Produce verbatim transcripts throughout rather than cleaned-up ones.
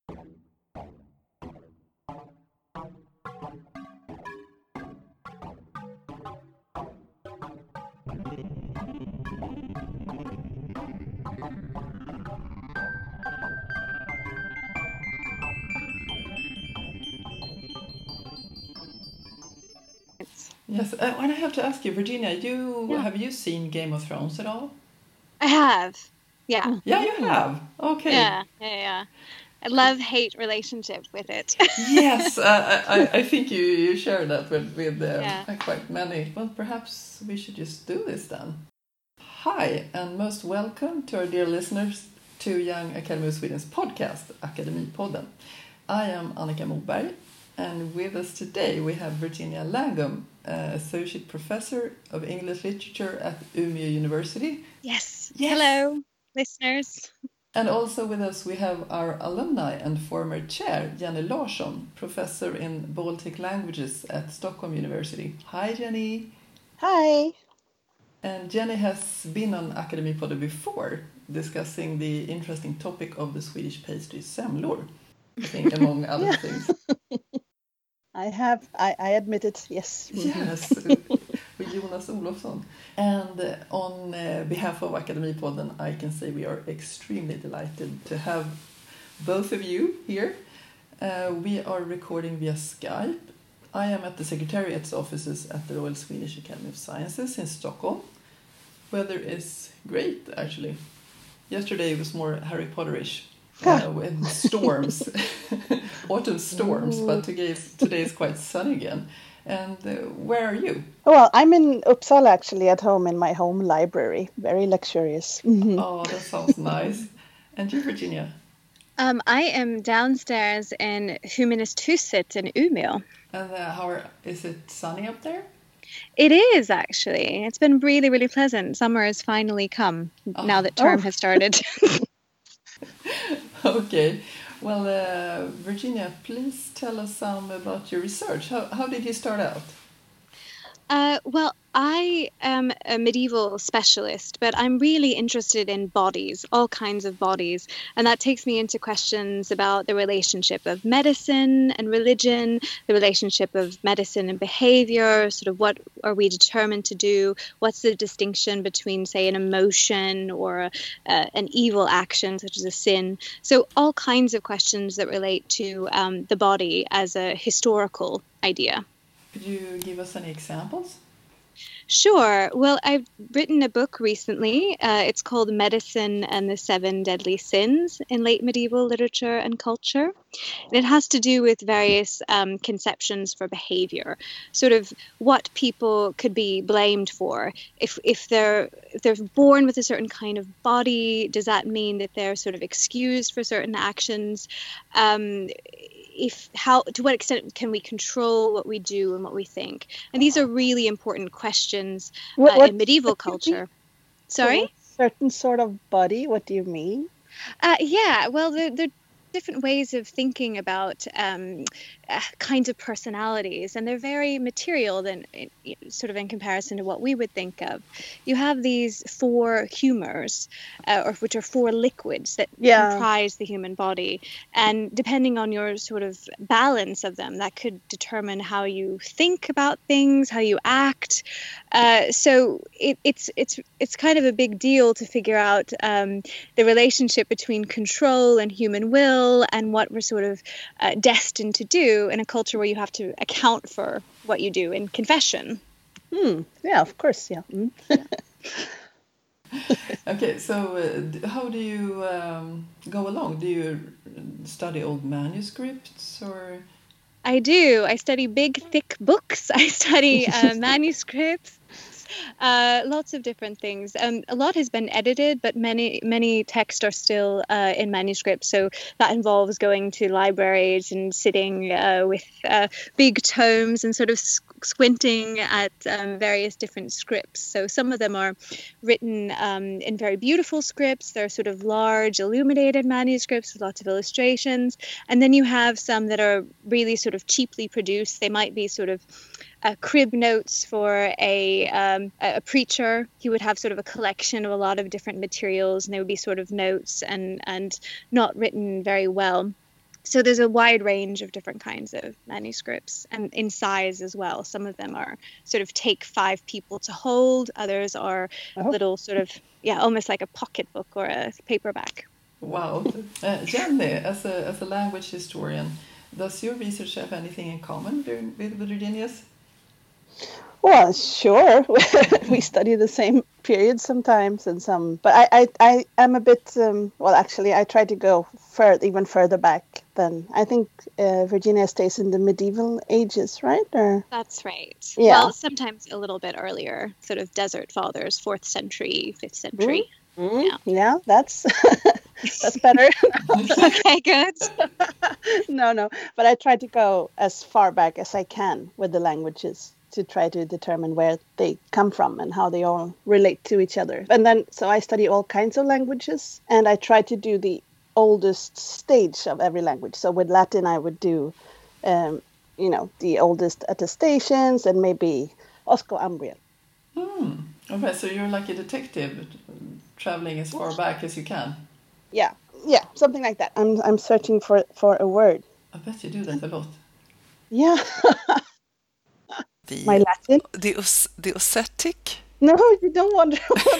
Yes, uh, and I have to ask you, Virginia, you yeah. have you seen Game of Thrones at all? I have. Yeah. Yeah, you have. Okay. Yeah, yeah, yeah. A love-hate relationship with it. Yes, uh, I, I think you, you share that with, with uh, yeah. quite many. Well, perhaps we should just do this then. Hi, and most welcome to our dear listeners to Young Academy of Sweden's podcast, Akademipodden. I am Annika Moberg, and with us today we have Virginia Langum, uh, Associate Professor of English Literature at Umeå University. Yes. yes. Hello, listeners. And also with us we have our alumni and former chair, Jenny Larsson, Professor in Baltic Languages at Stockholm University. Hi, Jenny. Hi. And Jenny has been on Akademipodden before, discussing the interesting topic of the Swedish pastry semlor, I think, among other yeah. things. I have, I, I admit it, yes. Yes, with Jonas Olofsson. And uh, on uh, behalf of Akademipodden, I can say we are extremely delighted to have both of you here. Uh, we are recording via Skype. I am at the Secretariat's offices at the Royal Swedish Academy of Sciences in Stockholm. Weather is great, actually. Yesterday it was more Harry Potterish. Uh, with storms, autumn storms, but today is, today is quite sunny again. And uh, where are you? Well, I'm in Uppsala, actually, at home in my home library. Very luxurious. Mm-hmm. Oh, that sounds nice. And you, Virginia? Um, I am downstairs in Humanisthuset in Umeå. And uh, how are, is it sunny up there? It is, actually. It's been really, really pleasant. Summer has finally come oh. now that term oh. has started. Okay, well, uh, Virginia, please tell us some about your research. How how did you start out? Uh, well, I am a medieval specialist, but I'm really interested in bodies, all kinds of bodies. And that takes me into questions about the relationship of medicine and religion, the relationship of medicine and behavior, sort of what are we determined to do? What's the distinction between, say, an emotion or a, uh, an evil action, such as a sin? So all kinds of questions that relate to um, the body as a historical idea. Could you give us any examples? Sure. Well, I've written a book recently. Uh, it's called Medicine and the Seven Deadly Sins in Late Medieval Literature and Culture. And it has to do with various um, conceptions for behavior, sort of what people could be blamed for. If if they're if they're born with a certain kind of body, does that mean that they're sort of excused for certain actions? Um, If how to what extent can we control what we do and what we think? And these are really important questions uh, what, what, in medieval culture. Sorry? Certain sort of body, what do you mean? Uh, yeah, well, there, there are different ways of thinking about um, uh, kinds of personalities, and they're very material than sort of in comparison to what we would think of. You have these four humors, uh, or which are four liquids that yeah. comprise the human body, and depending on your sort of balance of them, that could determine how you think about things, how you act. Uh, so it, it's it's it's kind of a big deal to figure out um, the relationship between control and human will, and what we're sort of uh, destined to do in a culture where you have to account for what you do in confession. Hmm. Yeah, of course. Yeah. Mm. yeah. Okay, so uh, how do you um, go along? Do you study old manuscripts or? I do. I study big, thick books. I study uh, manuscripts. Uh, lots of different things. Um, a lot has been edited, but many many texts are still uh, in manuscript. So that involves going to libraries and sitting uh, with uh, big tomes and sort of squinting at um, various different scripts. So some of them are written um, in very beautiful scripts. They're sort of large, illuminated manuscripts with lots of illustrations. And then you have some that are really sort of cheaply produced. They might be sort of Uh, crib notes for a um, a preacher. He would have sort of a collection of a lot of different materials, and they would be sort of notes and and not written very well. So there's a wide range of different kinds of manuscripts, and in size as well. Some of them are sort of take five people to hold. Others are Oh. little sort of, yeah, almost like a pocketbook or a paperback. Wow. Uh, Jenny, as a, as a language historian, does your research have anything in common with, with Virginia's? Well, sure. We study the same period sometimes, and some. But I, I, I am a bit. Um, well, actually, I try to go fur even further back than I think uh, Virginia stays in the medieval ages, right? Or That's right. Yeah. Well, sometimes a little bit earlier, sort of Desert Fathers, fourth century, fifth century. Mm, Yeah. yeah, that's that's better. Okay, good. No, no. But I try to go as far back as I can with the languages to try to determine where they come from and how they all relate to each other. And then, so I study all kinds of languages, and I try to do the oldest stage of every language. So with Latin, I would do, um, you know, the oldest attestations and maybe Osco-Umbrian. Hmm. Okay, so you're like a detective traveling as far back as you can. Yeah, yeah, something like that. I'm I'm searching for for a word. I bet you do that a lot. Yeah. The, My Latin? the, Os- the Ossetic? No, you don't wonder.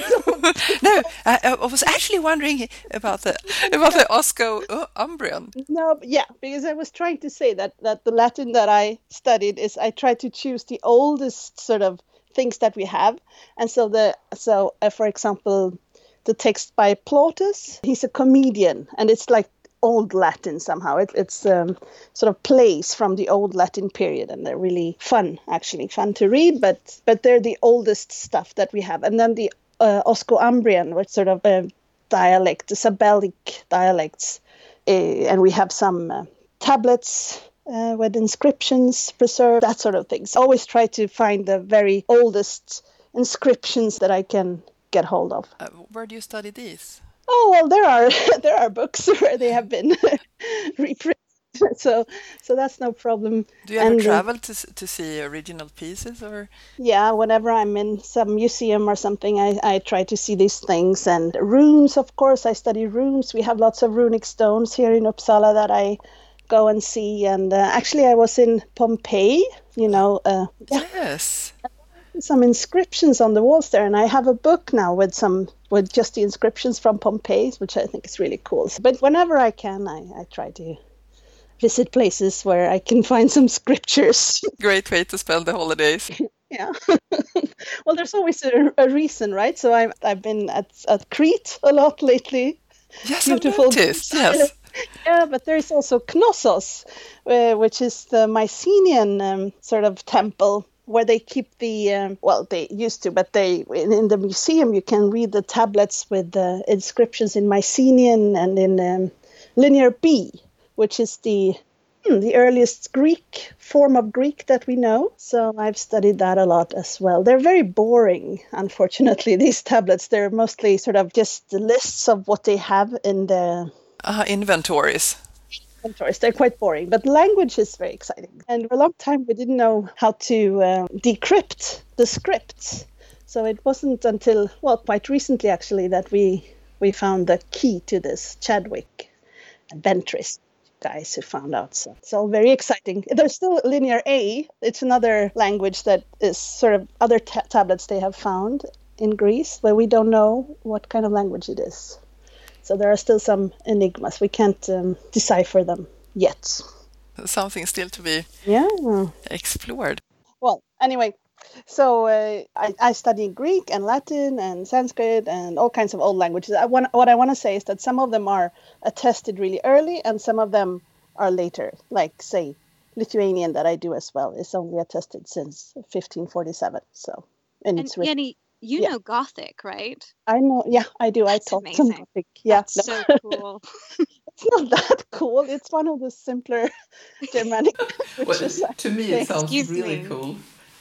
No, I, I was actually wondering about the about the Osco-Umbrian. No, but yeah, because I was trying to say that that the Latin that I studied is I tried to choose the oldest sort of things that we have, and so the so uh, for example, the text by Plautus, he's a comedian, and it's like old Latin somehow. It, it's um, sort of plays from the old Latin period, and they're really fun, actually fun to read. But but they're the oldest stuff that we have, and then the uh, Osco-Umbrian, which sort of a dialect, the Sabellic dialects, uh, and we have some uh, tablets uh, with inscriptions preserved, that sort of things. Always try to find the very oldest inscriptions that I can get hold of. Uh, where do you study these? Oh well, there are there are books where they have been reprinted, so so that's no problem. Do you ever And, uh, travel to s- to see original pieces, or Yeah, whenever I'm in some museum or something, I, I try to see these things. And runes, of course, I study runes. We have lots of runic stones here in Uppsala that I go and see. And uh, actually, I was in Pompeii, you know, uh, yeah, yes? some inscriptions on the walls there. And I have a book now with some with just the inscriptions from Pompeii, which I think is really cool. But whenever I can, I, I try to visit places where I can find some scriptures. Great way to spend the holidays. Yeah. Well, there's always a, a reason, right? So I've I've been at at Crete a lot lately. Yes, Beautiful. I noticed. Yes. Yeah, but there's also Knossos, uh, which is the Mycenaean um, sort of temple where they keep the um, well, they used to, but they in, in the museum you can read the tablets with the inscriptions in Mycenaean and in um, Linear B, which is the Hmm, the earliest Greek form of Greek that we know. So I've studied that a lot as well. They're very boring, unfortunately, these tablets. They're mostly sort of just the lists of what they have in the Uh, inventories. inventories. They're quite boring, but language is very exciting. And for a long time, we didn't know how to um, decrypt the scripts. So it wasn't until, well, quite recently, actually, that we, we found the key to this, Chadwick and Ventris guys who found out. So it's all very exciting. There's still Linear A. It's another language that is sort of other ta- tablets they have found in Greece where we don't know what kind of language it is. So there are still some enigmas. We can't um, decipher them yet. Something still to be Yeah. explored. Well, anyway, so uh, I, I study Greek and Latin and Sanskrit and all kinds of old languages. I want, what I want to say is that some of them are attested really early and some of them are later. Like, say, Lithuanian that I do as well is only attested since fifteen forty-seven. So, and, And it's written. Jenny, you Yeah. know Gothic, right? I know. Yeah, I do. That's I taught some amazing. Gothic. Yeah, That's no, so cool. it's not that cool. It's one of the simpler Germanic Well, languages. to me, it sounds Excuse really me. cool.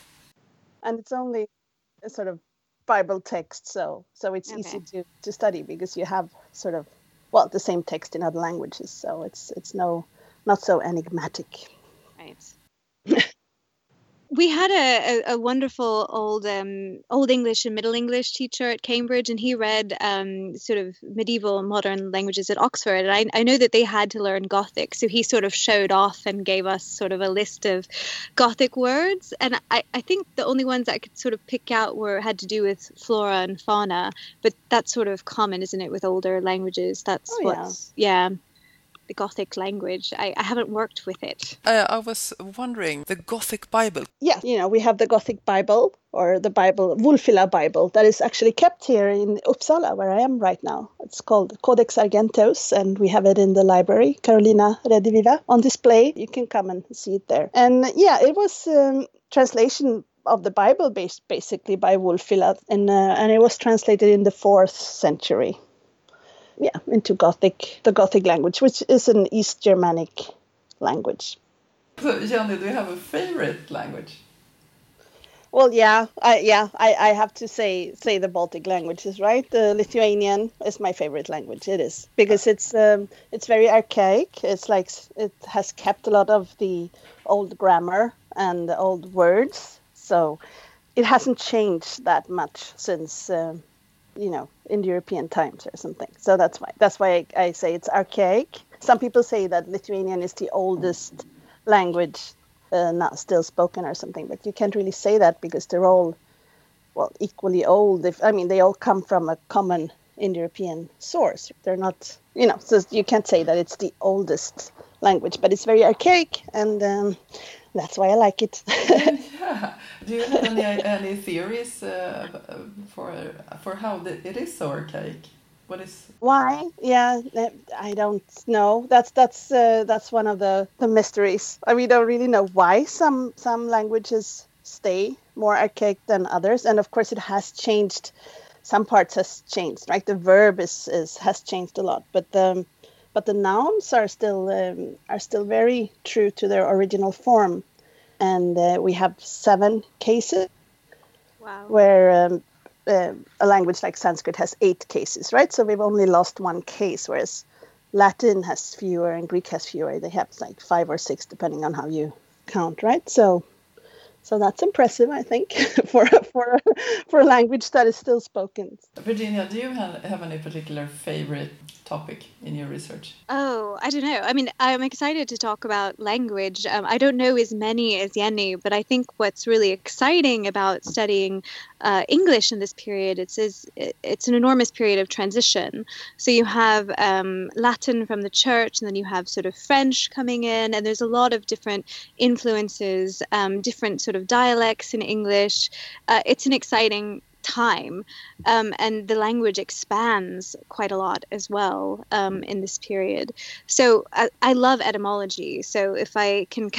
And it's only a sort of Bible text, so so it's Okay. easy to, to study because you have sort of well the same text in other languages, so it's it's no not so enigmatic. Right. We had a, a, a wonderful old um, old English and Middle English teacher at Cambridge, and he read um, sort of medieval modern languages at Oxford. And I, I know that they had to learn Gothic, so he sort of showed off and gave us sort of a list of Gothic words. And I, I think the only ones I could sort of pick out were had to do with flora and fauna, but that's sort of common, isn't it, with older languages? That's Oh, what's yeah. The Gothic language. I, I haven't worked with it. Uh, I was wondering, the Gothic Bible. Yeah, you know, we have the Gothic Bible, or the Bible, Wulfila Bible, that is actually kept here in Uppsala, where I am right now. It's called Codex Argenteus, and we have it in the library, Carolina Rediviva, on display. You can come and see it there. And yeah, it was um, translation of the Bible based basically by Wulfila, and, uh, and it was translated in the fourth century. Yeah, into Gothic, the Gothic language, which is an East Germanic language. So, Jenny, do you have a favorite language? Well, yeah, I, yeah, I, I have to say say the Baltic languages, right? The Lithuanian is my favorite language. It is because it's um, it's very archaic. It's like it has kept a lot of the old grammar and the old words, so it hasn't changed that much since. Um, you know, in European times or something. So that's why that's why I, I say it's archaic. Some people say that Lithuanian is the oldest language uh, not still spoken or something, but you can't really say that because they're all, well, equally old. If I mean, they all come from a common Indo-European source. They're not, you know, so you can't say that it's the oldest language, but it's very archaic, and um, that's why I like it. Yeah. Do you have any any theories uh, for for how the, it is so archaic? What is why? Yeah, I don't know. That's that's uh, that's one of the, the mysteries. I mean, we don't really know why some some languages stay more archaic than others, and of course, it has changed. Some parts has changed, right? The verb is, is has changed a lot, but the but the nouns are still um, are still very true to their original form. And uh, we have seven cases. Wow. Where um, uh, a language like Sanskrit has eight cases, right? So we've only lost one case, whereas Latin has fewer and Greek has fewer. They have like five or six, depending on how you count, right? So, so that's impressive, I think, for for for a language that is still spoken. Virginia, do you have, have any particular favorite topic in your research? Oh, I don't know. I mean, I'm excited to talk about language. Um, I don't know as many as Jenny, but I think what's really exciting about studying uh, English in this period, it's, is, it's an enormous period of transition. So you have um, Latin from the church, and then you have sort of French coming in, and there's a lot of different influences, um, different sort of dialects in English. Uh, it's an exciting time, um, and the language expands quite a lot as well um, in this period. So I, I love etymology. So if I can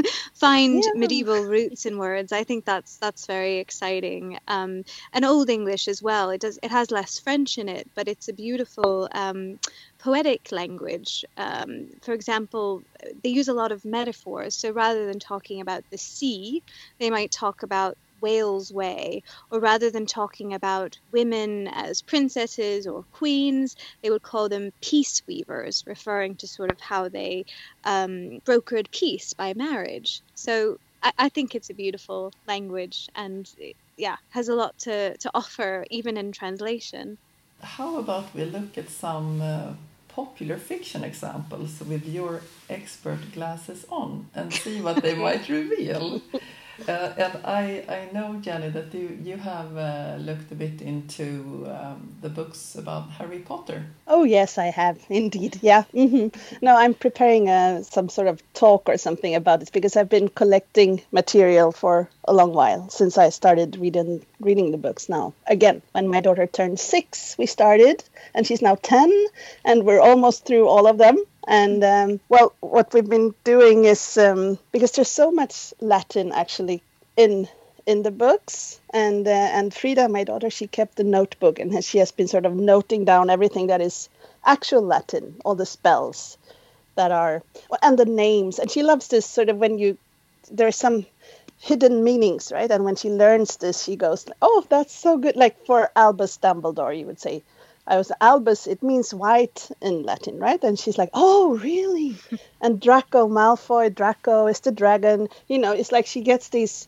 find yeah. medieval roots in words, I think that's that's very exciting. Um, and Old English as well. It does it has less French in it, but it's a beautiful um, poetic language. Um, for example, they use a lot of metaphors. So rather than talking about the sea, they might talk about Wales Way, or rather than talking about women as princesses or queens, they would call them peace weavers, referring to sort of how they um, brokered peace by marriage. So I, I think it's a beautiful language, and it, yeah, has a lot to, to offer even in translation. How about we look at some uh, popular fiction examples with your expert glasses on and see what they might reveal? Uh, and I, I know, Jenny, that you, you have uh, looked a bit into um, the books about Harry Potter. Oh, yes, I have, indeed. Yeah. Mm-hmm. No, I'm preparing uh, some sort of talk or something about this because I've been collecting material for a long while since I started reading reading the books now. Again, when my daughter turned six, we started, and she's now ten, and we're almost through all of them. And, um, well, what we've been doing is, um, because there's so much Latin actually in in the books, and uh, and Frida, my daughter, she kept a notebook, and she has been sort of noting down everything that is actual Latin, all the spells that are, and the names. And she loves this sort of when you, there's some hidden meanings, right? And when she learns this, she goes, oh, that's so good. Like for Albus Dumbledore, you would say, I was Albus, it means white in Latin, right? And she's like, oh, really? And Draco Malfoy, Draco is the dragon. You know, it's like she gets these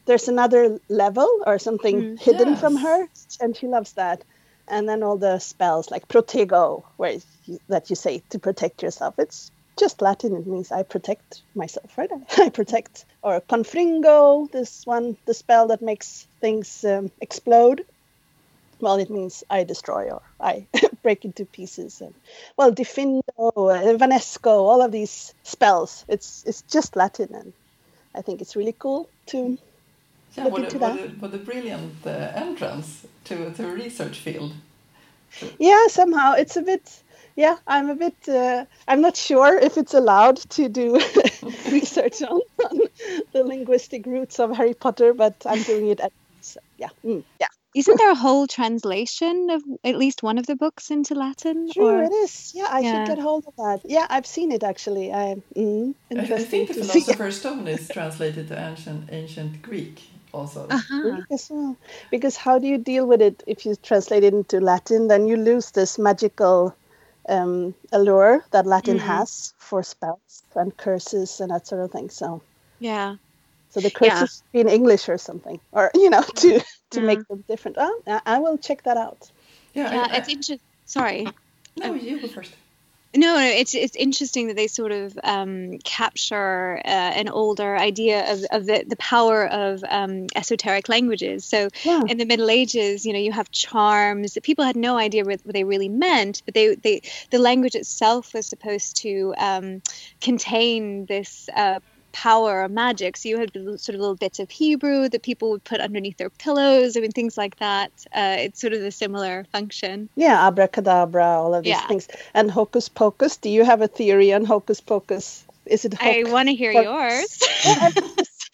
there's another level or something Mm. hidden Yes. from her, and she loves that. And then all the spells like protego, where you, that you say to protect yourself. It's just Latin. It means I protect myself, right? I protect. Or confringo, this one, the spell that makes things um, explode. Well, it means I destroy or I break into pieces. And well, Diffindo, uh, Vanesco, all of these spells. It's it's just Latin, and I think it's really cool to Yeah, look what a, into what that. a, what a brilliant uh, entrance to, to a research field. Yeah, somehow it's a bit. Yeah, I'm a bit. Uh, I'm not sure if it's allowed to do research on, on the linguistic roots of Harry Potter, but I'm doing it at so, yeah, mm, yeah. Isn't there a whole translation of at least one of the books into Latin? True, Or it is. Yeah, I should yeah. get hold of that. Yeah, I've seen it actually. I mm, I, I interesting think the to see Philosopher's Stone is translated to ancient ancient Greek also. Uh-huh. Greek as well. Because how do you deal with it if you translate it into Latin? Then you lose this magical um, allure that Latin Mm. has for spells and curses and that sort of thing. So. Yeah. So the Yeah. curses be in English or something, or you know, to to Yeah. make them different. Oh, I I will check that out. Yeah, Yeah, I, I, it's interesting. Sorry. no, you go first. No, no, it's it's interesting that they sort of um, capture uh, an older idea of, of the, the power of um, esoteric languages. So Yeah, in the Middle Ages, you know, you have charms that people had no idea what they really meant, but they, they the language itself was supposed to um, contain this uh, power or magic. So you had sort of little bits of Hebrew that people would put underneath their pillows. I mean, things like that. Uh, it's sort of a similar function. yeah, abracadabra, all of these Yeah. things, and hocus pocus. Do you have a theory on hocus pocus? Is it? I hoc want to hear pocus? yours. Yeah, I just-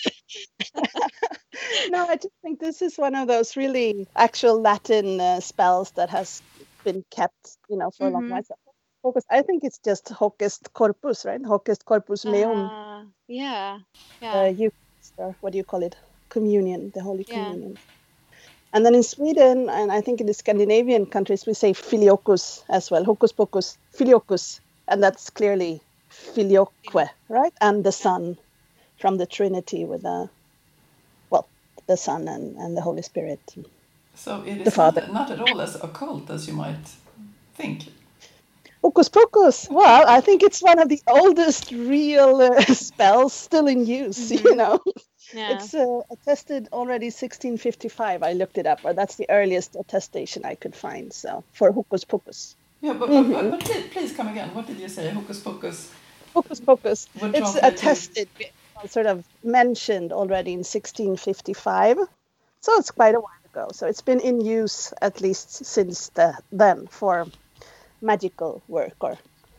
no, I just think this is one of those really actual Latin uh, spells that has been kept, you know, for a long Mhm. while. So, Focus. I think it's just hocus corpus, right? Hocus corpus meum, Uh, yeah, yeah, uh, Eucharist, or what do you call it? Communion, the Holy yeah. Communion. And then in Sweden, and I think in the Scandinavian countries, we say filiokus as well. Hocus pocus, filiokus. And that's clearly filioque, right? And the Son from the Trinity with the, well, the Son and, and the Holy Spirit. So it The is Father. not, not at all as occult as you might think. Hocus pocus. Well, I think it's one of the oldest real uh, spells still in use, you Mhm. know. Yeah. It's uh, attested already sixteen fifty-five. I looked it up, or that's the earliest attestation I could find. So for hocus pocus. Yeah, but, but, but, but please, please come again. What did you say? Hocus pocus. Hocus pocus. Would It's translate to- attested, sort of mentioned already in sixteen fifty-five. So it's quite a while ago. So it's been in use at least since the, then for magical work. Or,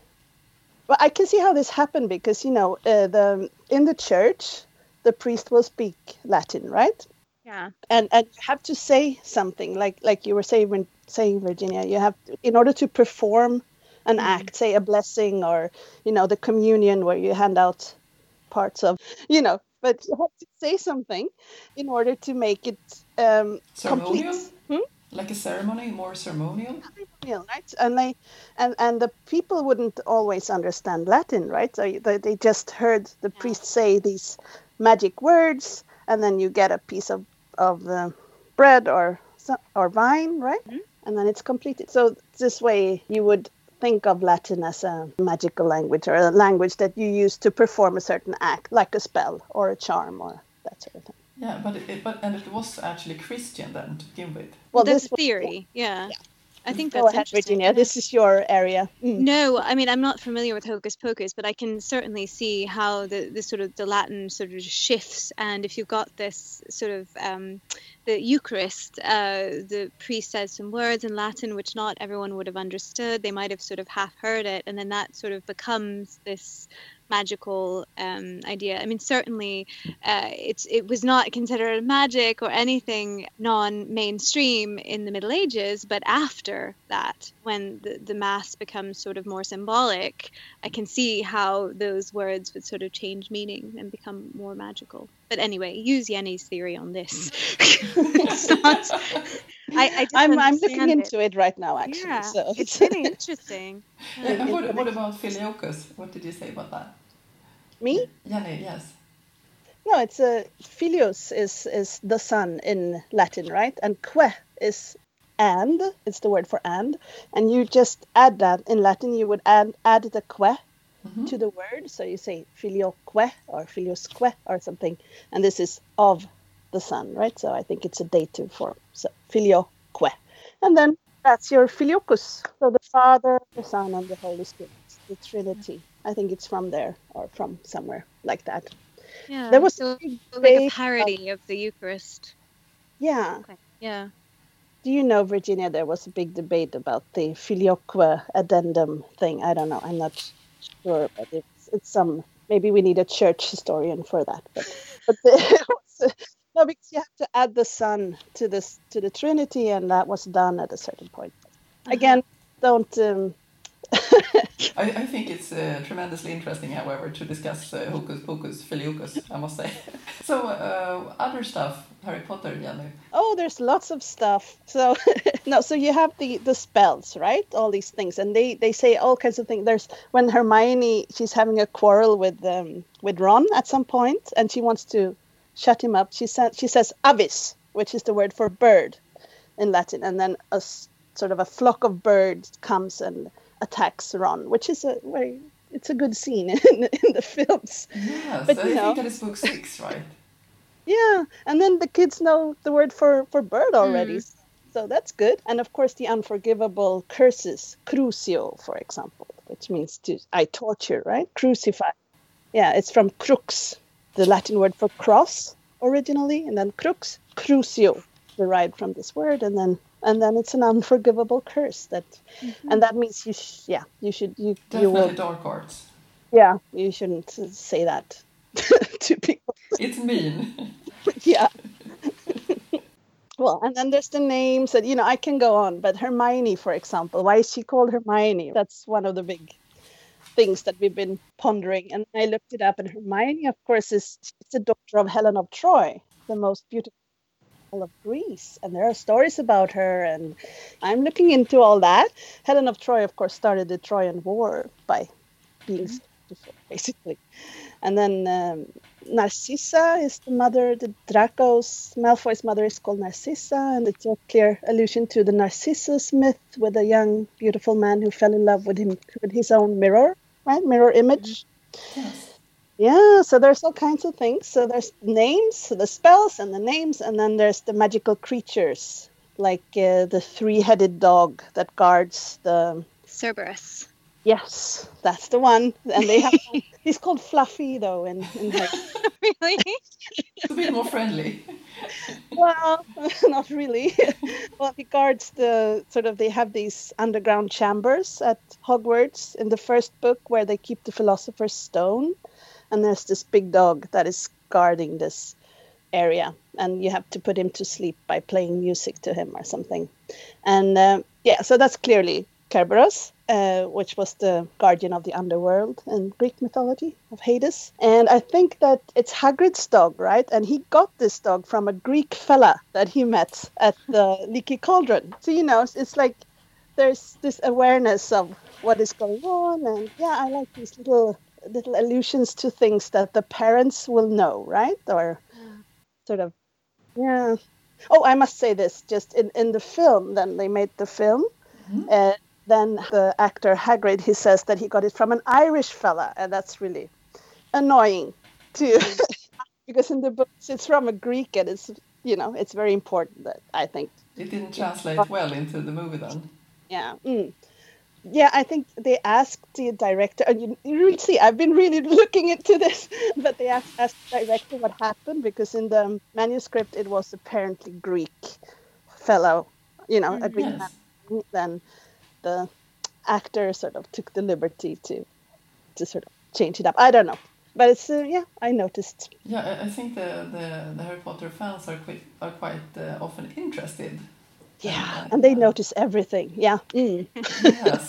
but I can see how this happened because, you know, uh, the in the church, the priest will speak Latin, right? Yeah. And and you have to say something like like you were saying, saying Virginia. You have to, in order to perform an act, say a blessing or you know the communion where you hand out parts of, you know, but you have to say something in order to make it um, complete. Ceremonial? Hmm? Like a ceremony, more ceremonial? Ceremonial, right? And they and and the people wouldn't always understand Latin, right? So they, they just heard the priest say these magic words, and then you get a piece of of the bread or so- or wine, right? And then it's completed. So this way you would think of Latin as a magical language or a language that you use to perform a certain act, like a spell or a charm or that sort of thing. Yeah, but it, but and it was actually Christian then to begin with. Well, Well, that's this the was- theory. Yeah. I think Go that's ahead, interesting. Virginia. Yeah. This is your area. Mm. No, I mean I'm not familiar with Hocus Pocus, but I can certainly see how the, the sort of the Latin sort of shifts. And if you've got this sort of um, the Eucharist, uh, the priest says some words in Latin which not everyone would have understood. They might have sort of half heard it, and then that sort of becomes this magical um, idea. I mean, certainly uh, it's it was not considered magic or anything non-mainstream in the Middle Ages, but after that, when the, the mass becomes sort of more symbolic, I can see how those words would sort of change meaning and become more magical. But anyway, use Jenny's theory on this. It's not- I, I didn't I'm I'm looking understand into it. right now, actually. Yeah, So it's really interesting. Yeah, and what, Information. what about Filiokus? What did you say about that? me. Jenny, yes. No, no, it's a filius is is the son in Latin, right? And que is and. It's the word for and, and you just add that in Latin. You would add add the que Mhm. to the word, so you say filioque or filiosque or something, and this is of the son, right? So I think it's a dative form. So filioque, and then that's your filioquus. So the Father, the Son, and the Holy Spirit, the Trinity. I think it's from there or from somewhere like that. Yeah. There was So a big like a debate about- parody of the Eucharist. yeah. Okay. Yeah. Do you know, Virginia, there was a big debate about the filioque addendum thing. I don't know. I'm not sure, but it's it's some. Maybe we need a church historian for that. But but the, it was, no, because you have to add the Son to this to the Trinity, and that was done at a certain point. Again, don't. Um, I, I think it's uh, tremendously interesting, however, to discuss uh, Hocus Pocus Filioquus, I must say. So, uh, other stuff, Harry Potter, Jenny. oh, there's lots of stuff. So no, so you have the the spells, right? All these things, and they they say all kinds of things. There's when Hermione, she's having a quarrel with um with Ron at some point, and she wants to shut him up. She said she says avis, which is the word for bird in Latin, and then a s- sort of a flock of birds comes and attacks Ron, which is a very it's a good scene in, in the films. Yes, But, I you know- think that is book six, right? Yeah, and then the kids know the word for for bird already, Mm. so that's good. And of course, the unforgivable curses, crucio, for example, which means to I torture, right? Crucify. Yeah, it's from crux, the Latin word for cross originally, and then crux, crucio, derived from this word, and then and then it's an unforgivable curse that, and that means you, sh- yeah, you should you you will, Definitely dark arts. yeah, you shouldn't say that to people. It's mean. Yeah. Well, and then there's the names, and you know, I can go on, but Hermione, for example, why is she called Hermione? That's one of the big things that we've been pondering. And I looked it up, and Hermione, of course, is it's the daughter of Helen of Troy, the most beautiful of Greece. And there are stories about her, and I'm looking into all that. Helen of Troy, of course, started the Trojan War by being so beautiful, basically. And then um, Narcissa is the mother, the Draco's, Malfoy's mother is called Narcissa, and it's a clear allusion to the Narcissus myth with a young, beautiful man who fell in love with him with his own mirror, right? Mirror image. Yes. Yeah, so there's all kinds of things. So there's names, so the spells and the names, and then there's the magical creatures, like uh, the three-headed dog that guards the. Cerberus. Yes, that's the one. And they have. He's called Fluffy though, in in Harry. Really? It's a bit more friendly. Well, not really. Well, he guards the sort of, they have these underground chambers at Hogwarts in the first book where they keep the Philosopher's Stone. And there's this big dog that is guarding this area. And you have to put him to sleep by playing music to him or something. And uh, yeah, so that's clearly Kerberos, uh, which was the guardian of the underworld in Greek mythology of Hades. And I think that it's Hagrid's dog, right? And he got this dog from a Greek fella that he met at the Leaky Cauldron. So, you know, it's, it's like there's this awareness of what is going on. And yeah, I like these little little allusions to things that the parents will know, right? Or sort of, yeah. Oh, I must say this, just in, in the film, then they made the film. Mhm. Uh, then the actor Hagrid, he says that he got it from an Irish fella, and that's really annoying too, because in the books it's from a Greek, and it's, you know, it's very important that I think. It didn't translate well into the movie then. Yeah. Mm. Yeah, I think they asked the director, and you, you really see, I've been really looking into this, but they asked, asked the director what happened, because in the manuscript it was apparently Greek fellow, you know, a Greek Yes. man. Then the actor sort of took the liberty to to sort of change it up. I don't know, but it's uh, yeah, I noticed. Yeah, I- I think the, the, the Harry Potter fans are quite, are quite uh, often interested. Yeah, And, uh, and they yeah. notice everything. Yeah. Mm. Yes.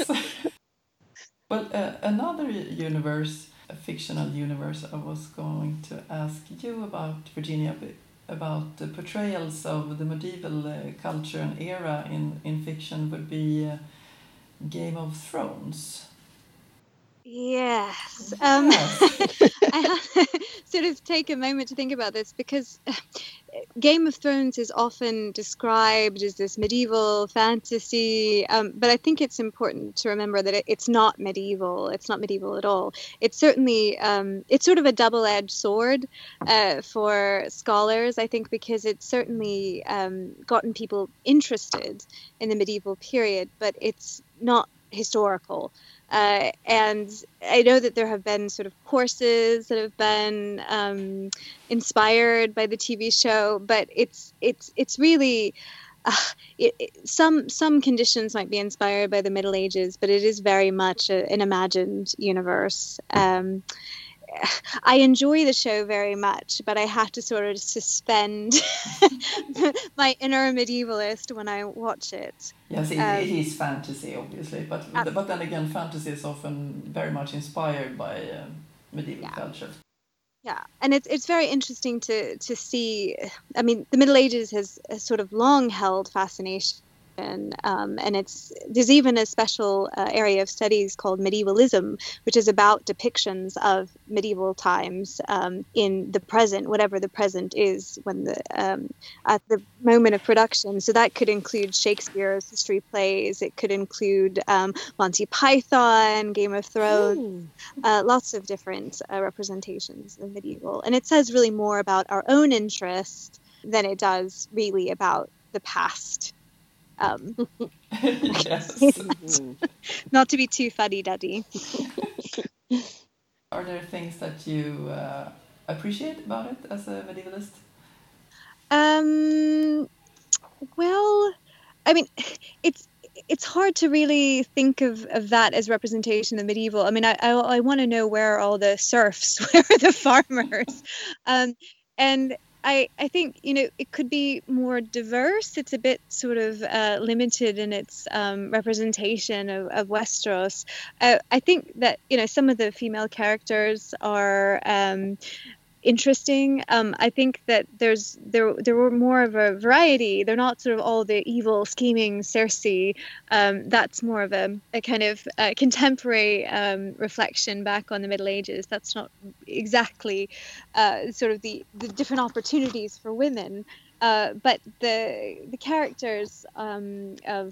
Well, uh, another universe, a fictional universe, I was going to ask you about, Virginia, b- about the portrayals of the medieval uh, culture and era in, in fiction would be uh, Game of Thrones. Yes. Um, Yes. I have sort of take a moment to think about this, because Game of Thrones is often described as this medieval fantasy, um, but I think it's important to remember that it, it's not medieval. It's not medieval at all. It's certainly, um, it's sort of a double-edged sword uh, for scholars, I think, because it's certainly um, gotten people interested in the medieval period, but it's not historical. Uh, and I know that there have been sort of courses that have been um, inspired by the T V show, but it's it's it's really uh, it, it, some some conditions might be inspired by the Middle Ages, but it is very much a, an imagined universe. Um, I enjoy the show very much, but I have to sort of suspend my inner medievalist when I watch it. Yes, it, Um, it is fantasy, obviously, but Absolutely. but then again, fantasy is often very much inspired by um, medieval Yeah. culture. Yeah, and it's it's very interesting to to see. I mean, the Middle Ages has, has sort of long held fascination, um, and it's there's even a special uh, area of studies called medievalism, which is about depictions of medieval times um, in the present, whatever the present is when the um, at the moment of production. So that could include Shakespeare's history plays. It could include um, Monty Python, Game of Thrones. Uh, lots of different uh, representations of medieval. And it says really more about our own interest than it does really about the past. Um, Yes. not to be too fuddy-duddy. Are there things that you uh, appreciate about it as a medievalist? Um, well, I mean, it's it's hard to really think of, of that as representation of medieval. I mean, I I, I want to know where are all the serfs, where are the farmers, um, and I I think you know it could be more diverse. It's a bit sort of uh, limited in its um, representation of, of Westeros. Uh, I think that you know some of the female characters are. Um, interesting. Um, I think that there's there there were more of a variety. They're not sort of all the evil, scheming Cersei. Um, that's more of a, a kind of uh, contemporary um, reflection back on the Middle Ages. That's not exactly uh, sort of the, the different opportunities for women. Uh, but the the characters um, of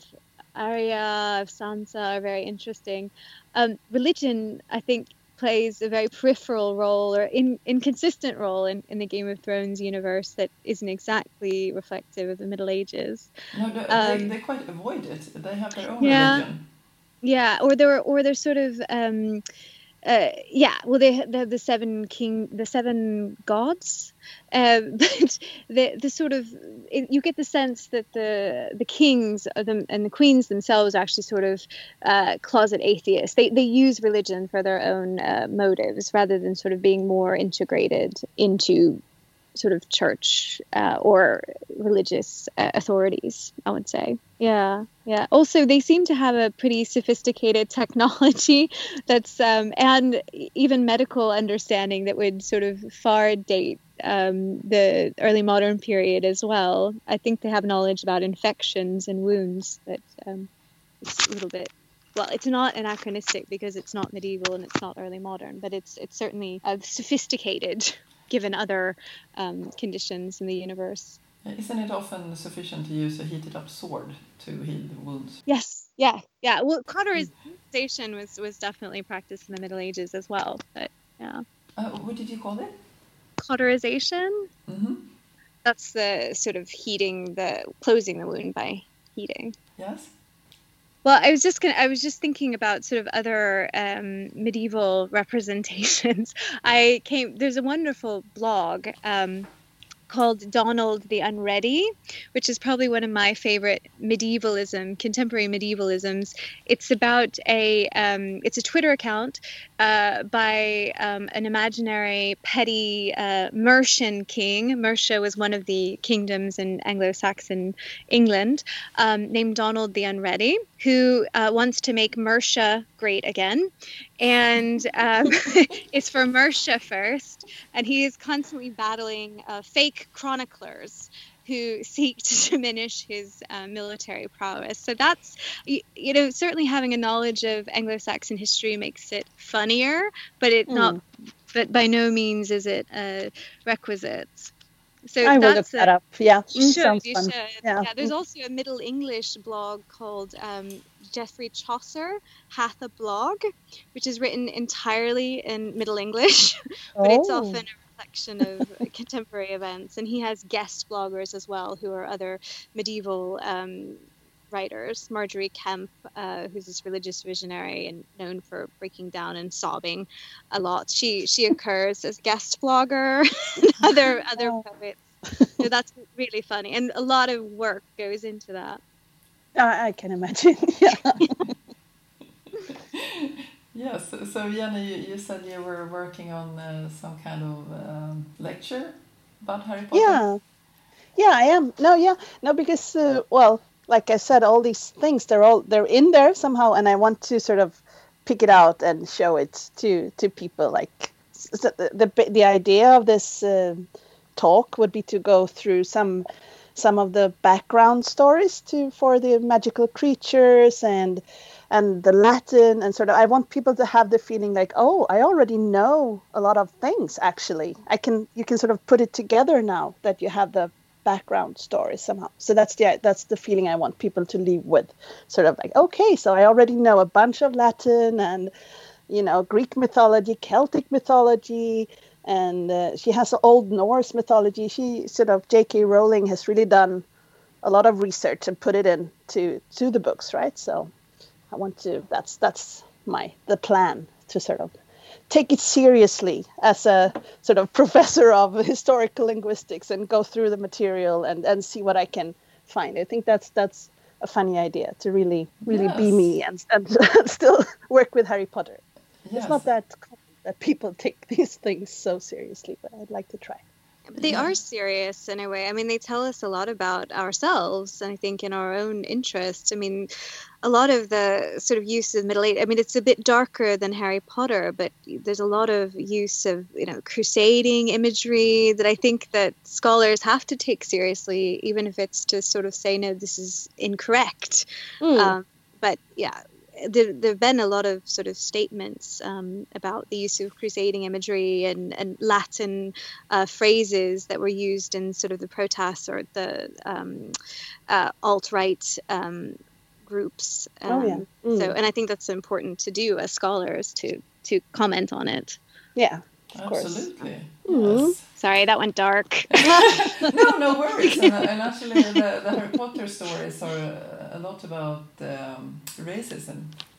Arya, of Sansa are very interesting. Um, religion, I think, plays a very peripheral role or in, inconsistent role in, in the Game of Thrones universe that isn't exactly reflective of the Middle Ages. No, they, Um, they, they quite avoid it. They have their own Yeah. religion. Yeah, or they're or they're sort of um, uh, yeah. Well, they they have the seven king, the seven gods, uh, but the the sort of it, you get the sense that the the kings are them, and the queens themselves are actually sort of uh, closet atheists. They they use religion for their own uh, motives rather than sort of being more integrated into sort of church uh, or religious uh, authorities, I would say. Yeah, yeah. Also, they seem to have a pretty sophisticated technology that's um, and even medical understanding that would sort of far date um, the early modern period as well. I think they have knowledge about infections and wounds that um, is a little bit. Well, it's not anachronistic because it's not medieval and it's not early modern, but it's it's certainly uh, sophisticated given other um, conditions in the universe. Isn't it often sufficient to use a heated up sword to heal the wounds? Yes, yeah, yeah. Well, cauterization was, was definitely practiced in the Middle Ages as well, but yeah. Uh, what did you call it? Cauterization? Mm-hmm. That's the sort of heating, the closing the wound by heating. Yes. Well, I was just gonna. I was just thinking about sort of other um, medieval representations. I came. There's a wonderful blog um, called Donald the Unready, which is probably one of my favorite medievalism, contemporary medievalisms. It's about a. Um, it's a Twitter account uh, by um, an imaginary petty uh, Mercian king. Mercia was one of the kingdoms in Anglo-Saxon England, um, named Donald the Unready, who uh, wants to make Mercia great again. And um, it's for Mercia first. And he is constantly battling uh, fake chroniclers who seek to diminish his uh, military prowess. So that's, you, you know, certainly having a knowledge of Anglo-Saxon history makes it funnier, but it not, Mm. but by no means is it a requisite. So I will look that's that a, up. Yeah, you mm, should, sounds you fun. should. Yeah. Yeah, there's also a Middle English blog called um, Geoffrey Chaucer Hath a Blog, which is written entirely in Middle English, but it's Oh. often a reflection of contemporary events. And he has guest bloggers as well, who are other medieval um, writers. Marjorie Kemp, uh, who's this religious visionary and known for breaking down and sobbing a lot. She she occurs as guest blogger, and other other Oh. poets. So that's really funny, and a lot of work goes into that. I, I can imagine. Yeah. Yes. So, so Jenny, you, you said you were working on uh, some kind of um, lecture about Harry Potter. Yeah. Yeah, I am. No, yeah. No, because uh, well, like I said, all these things they're all they're in there somehow, and I want to sort of pick it out and show it to to people. Like so the, the the idea of this uh, talk would be to go through some some of the background stories to for the magical creatures and and the Latin, and sort of I want people to have the feeling like, oh, I already know a lot of things. Actually, I can you can sort of put it together now that you have the background story somehow. So that's the that's the feeling I want people to leave with, sort of like, okay, so I already know a bunch of Latin and, you know, Greek mythology, Celtic mythology, and uh, she has Old Norse mythology. She sort of J K Rowling has really done a lot of research and put it into to the books, right? So I want to that's that's my the plan to sort of take it seriously as a sort of professor of historical linguistics and go through the material and, and see what I can find. I think that's that's a funny idea to really really Yes. be me and, and still work with Harry Potter. Yes. It's not that common that people take these things so seriously, but I'd like to try. They Yeah. are serious in a way. I mean, they tell us a lot about ourselves, and I think in our own interest. I mean, a lot of the sort of use of Middle Age, I mean, it's a bit darker than Harry Potter, but there's a lot of use of, you know, crusading imagery that I think that scholars have to take seriously, even if it's to sort of say, no, this is incorrect. Mm. Um, but yeah, there have been a lot of sort of statements um, about the use of crusading imagery and, and Latin uh, phrases that were used in sort of the protests or the um, uh, alt-right um, groups. Um, Oh, yeah. Mm. So, and I think that's important to do as scholars to to comment on it. Yeah, of course. Absolutely. Mhm. Yes. Sorry, that went dark. No, no worries. And, and actually, the, the Harry Potter stories are uh, a lot about um, racism.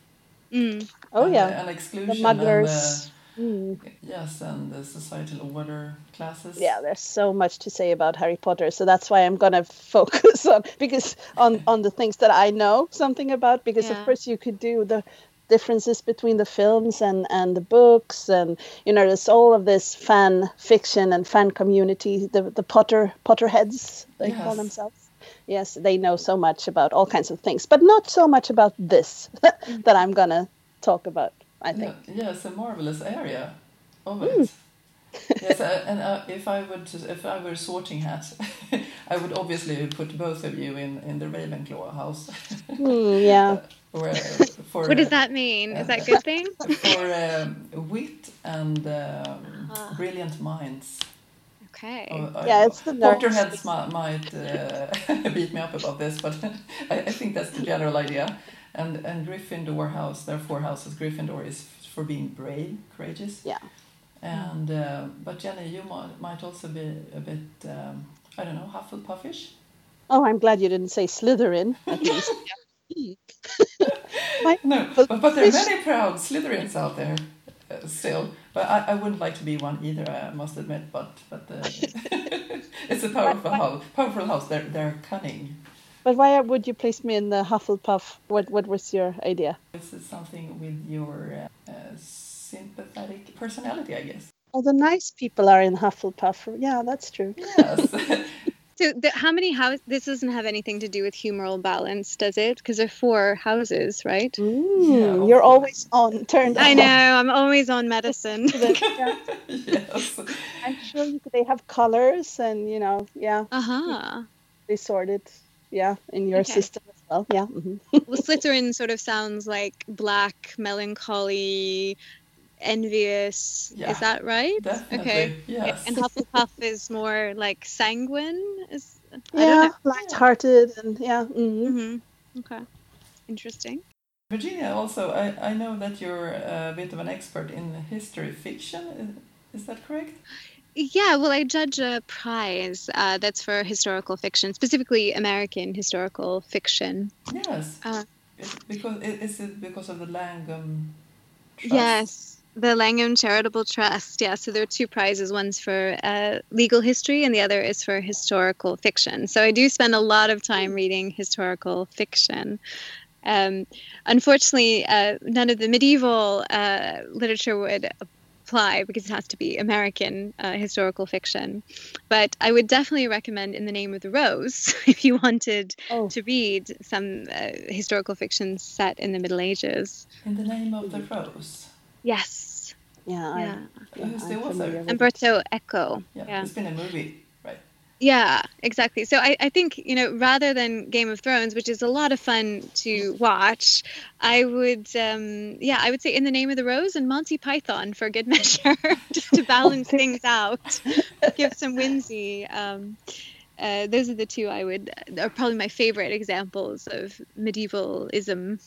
Mm. Oh and, yeah, and the exclusion. mugglers. And Mm. the, yes, and the societal order classes. Yeah, there's so much to say about Harry Potter, so that's why I'm gonna focus on because on on the things that I know something about. Because Yeah. of course you could do the differences between the films and and the books, and you know there's all of this fan fiction and fan community. The the Potter Potterheads they call Yes. themselves. Yes, they know so much about all kinds of things, but not so much about this that I'm gonna talk about. I think. Yeah, yes, a marvelous area of it. Yes, uh, and uh, if I would, if I were Sorting Hat, I would obviously put both of you in, in the Ravenclaw house. Mm, yeah. or, uh, for, What does uh, that mean? Is that a good thing? For um, wit and um, Ah. brilliant minds. Okay. Oh, I- Yeah, it's the nerds. Potterheads mi- might uh, beat me up about this, but I, I think that's the general idea. And and Gryffindor house, there are four houses. Gryffindor is f- for being brave, courageous. Yeah. And uh, but Jenny, you might might also be a bit um, I don't know, Hufflepuffish. Oh, I'm glad you didn't say Slytherin, at least. My- No, but, but there are many proud Slytherins out there uh, still. But I, I wouldn't like to be one either, I must admit. But but uh, it's a powerful house. Powerful house. They're they're cunning. But why would you place me in the Hufflepuff? What What was your idea? This is something with your uh, uh, sympathetic personality, I guess. Oh, the nice people are in Hufflepuff. Yeah, that's true. Yes. So, the, how many houses? This doesn't have anything to do with humoral balance, does it? Because there are four houses, right? Mm, Yeah, you're of always on, turned I on. know. I'm always on medicine. Yeah, Yes. I'm sure you could, they have colors and, you know, yeah. Uh huh. they sorted, yeah, in your Okay. system as well. Yeah. hmm Well, Slytherin sort of sounds like black, melancholy, envious. Yeah, Is that right? Okay. definitely. Yeah. Yes. And Hufflepuff is more like sanguine. Is I don't Yeah, know. Yeah. light-hearted and yeah. hmm hmm Okay. Interesting. Virginia, also, I, I know that you're a bit of an expert in history fiction. Is, is that correct? Yeah, well, I judge a prize uh, that's for historical fiction, specifically American historical fiction. Yes. Uh, Is it because i- is it because of the Langham Trust? yes, the Langham Charitable Trust. Yeah, so there are two prizes. One's for uh, legal history, and the other is for historical fiction. So I do spend a lot of time reading historical fiction. Um, unfortunately, uh, none of the medieval uh, literature would apply because it has to be American uh, historical fiction. But I would definitely recommend In the Name of the Rose if you wanted Oh, to read some uh, historical fiction set in the Middle Ages. In the Name of the Mhm. Rose. Yes. yeah, I, Yeah. yeah, Who's the I'm author? familiar with it. Umberto Eco. Yeah, Yeah. there's been a movie, right? Yeah, exactly. So I, I think, you know, rather than Game of Thrones, which is a lot of fun to watch, I would, um, yeah, I would say In the Name of the Rose and Monty Python for good measure, just to balance things out, give some whimsy. Um, uh, those are the two I would, are probably my favorite examples of medievalism.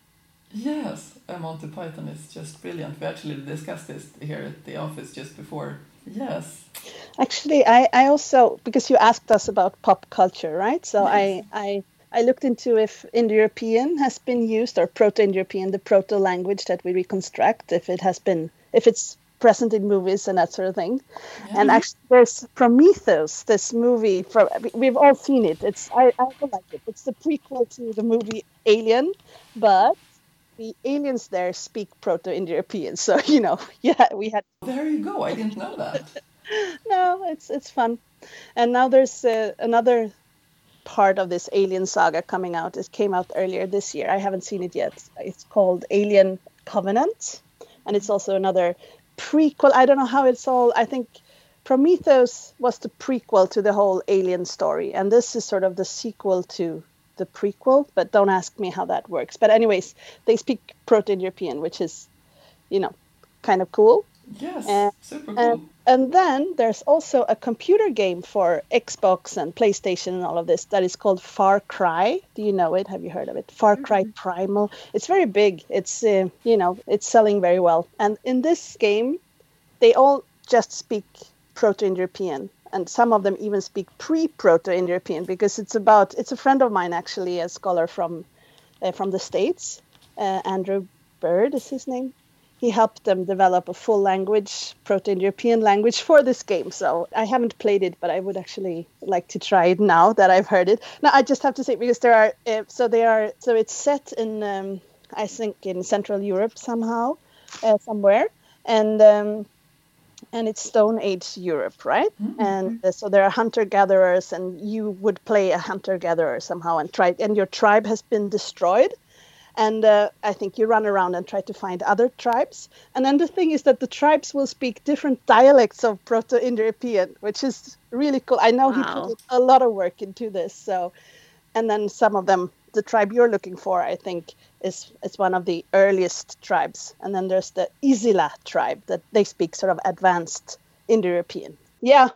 Yes, uh, Monty Python is just brilliant. We actually discussed this here at the office just before. Yes. Actually, I, I also, because you asked us about pop culture, right? So Yes. I, I, I looked into if Indo-European has been used, or Proto-Indo-European, the proto-language that we reconstruct, if it has been, if it's present in movies and that sort of thing. Yeah. And actually, there's Prometheus, this movie. From we- we've all seen it. It's I, I don't like it. It's the prequel to the movie Alien, but the aliens there speak Proto-Indo-European. So you know, yeah, we had There you go. I didn't know that. no. It's it's fun. And now there's uh, another part of this Alien saga coming out. It came out earlier this year. I haven't seen it yet. It's called Alien Covenant, and it's also another prequel. I don't know how it's all. I think Prometheus was the prequel to the whole Alien story, and this is sort of the sequel to the prequel. But don't ask me how that works. But anyways, they speak Proto-European, which is, you know, kind of cool. Yes, And super and cool. and then there's also a computer game for Xbox and PlayStation and all of this that is called Far Cry. Do you know it? Have you heard of it? Far Cry Mhm. Primal. It's very big. It's uh, you know, it's selling very well. And in this game, they all just speak Proto-Indo-European, and some of them even speak pre-Proto-Indo-European, because it's about it's a friend of mine, actually, a scholar from uh, from the States. Uh, Andrew Bird is his name. He helped them develop a full language, Proto-Indo-European language for this game. So I haven't played it, but I would actually like to try it now that I've heard it. Now I just have to say, because there are uh, so they are so it's set in um, I think in Central Europe somehow, uh, somewhere, and um, and it's Stone Age Europe, right? Mm. And uh, so there are hunter gatherers, and you would play a hunter gatherer somehow and try, and your tribe has been destroyed. And uh, I think you run around and try to find other tribes. And then the thing is that the tribes will speak different dialects of Proto-Indo-European, which is really cool. I know he put Wow. in a lot of work into this. So, and then some of them, the tribe you're looking for, I think, is is one of the earliest tribes. And then there's the Isila tribe that they speak sort of advanced Indo-European. Yeah.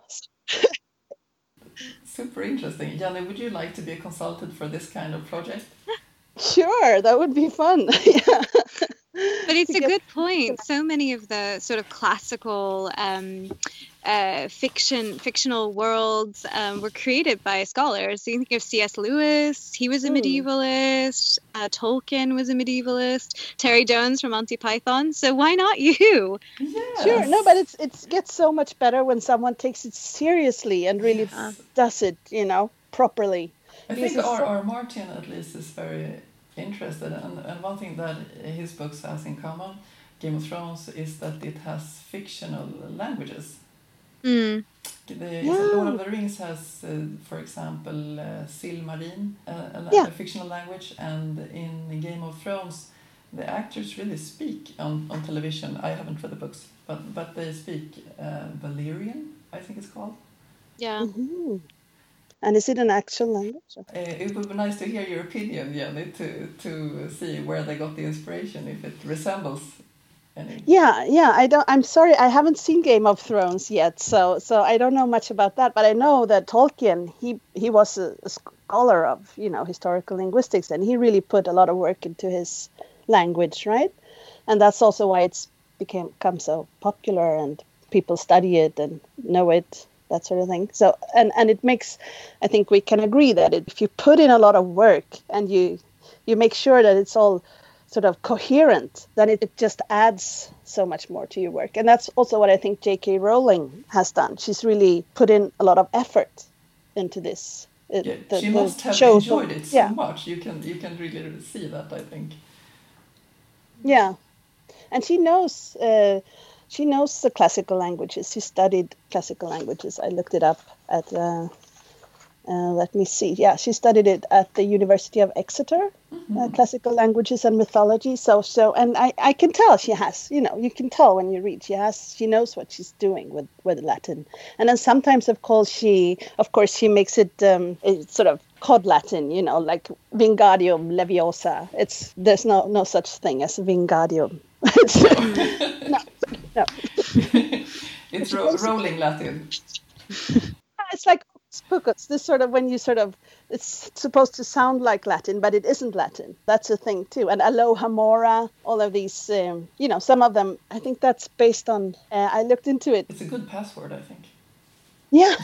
Super interesting. Jenny, would you like to be a consultant for this kind of project? Sure, that would be fun. Yeah. But it's To a get- good point. So many of the sort of classical um, uh, fiction, fictional worlds um, were created by scholars. So you think of C S Lewis, he was a Mm. medievalist. Uh, Tolkien was a medievalist. Terry Jones from Monty Python. So why not you? Yes. Sure, no, but it's it gets so much better when someone takes it seriously and really Yes. does it, you know, properly. I Because think it's our, so- our Martin at least is very interested, and, and one thing that his books has in common, Game of Thrones, is that it has fictional languages. Mm. The Yeah. Lord of the Rings has, uh, for example, uh, Silmarine, uh, a, la- Yeah. a fictional language, and in Game of Thrones, the actors really speak on, on television. I haven't read the books, but but they speak uh, Valyrian, I think it's called. Yeah. Mhm. And is it an actual language? Uh, it would be nice to hear your opinion, Jenny, to to see where they got the inspiration, if it resembles any. Yeah, yeah. I don't. I'm sorry, I haven't seen Game of Thrones yet, so so I don't know much about that. But I know that Tolkien, he he was a, a scholar of you know historical linguistics, and he really put a lot of work into his language, right? And that's also why it's became become so popular, and people study it and know it, that sort of thing. So and and it makes, I think we can agree that if you put in a lot of work and you you make sure that it's all sort of coherent, then it, it just adds so much more to your work. And that's also what I think J K Rowling has done. She's really put in a lot of effort into this. It, Yeah, the, she the must have shows- enjoyed it so yeah. much. You can you can really see that, I think. Yeah, and she knows uh, she knows the classical languages. She studied classical languages. I looked it up at. Uh, uh, let me see. Yeah, she studied it at the University of Exeter, uh, classical languages and mythology. So so, and I, I can tell she has. You know, you can tell when you read. She has. She knows what she's doing with, with Latin. And then sometimes, of course, she of course she makes it um, it's sort of cod Latin. You know, like Wingardium Leviosa. It's there's no no such thing as Wingardium. It's, no, no. It's ro- rolling Latin. It's like Pocus, this sort of when you sort of it's supposed to sound like Latin, but it isn't Latin. That's a thing too. And Alohomora, all of these, um, you know, some of them. I think that's based on. Uh, I looked into it. It's a good password, I think. Yeah.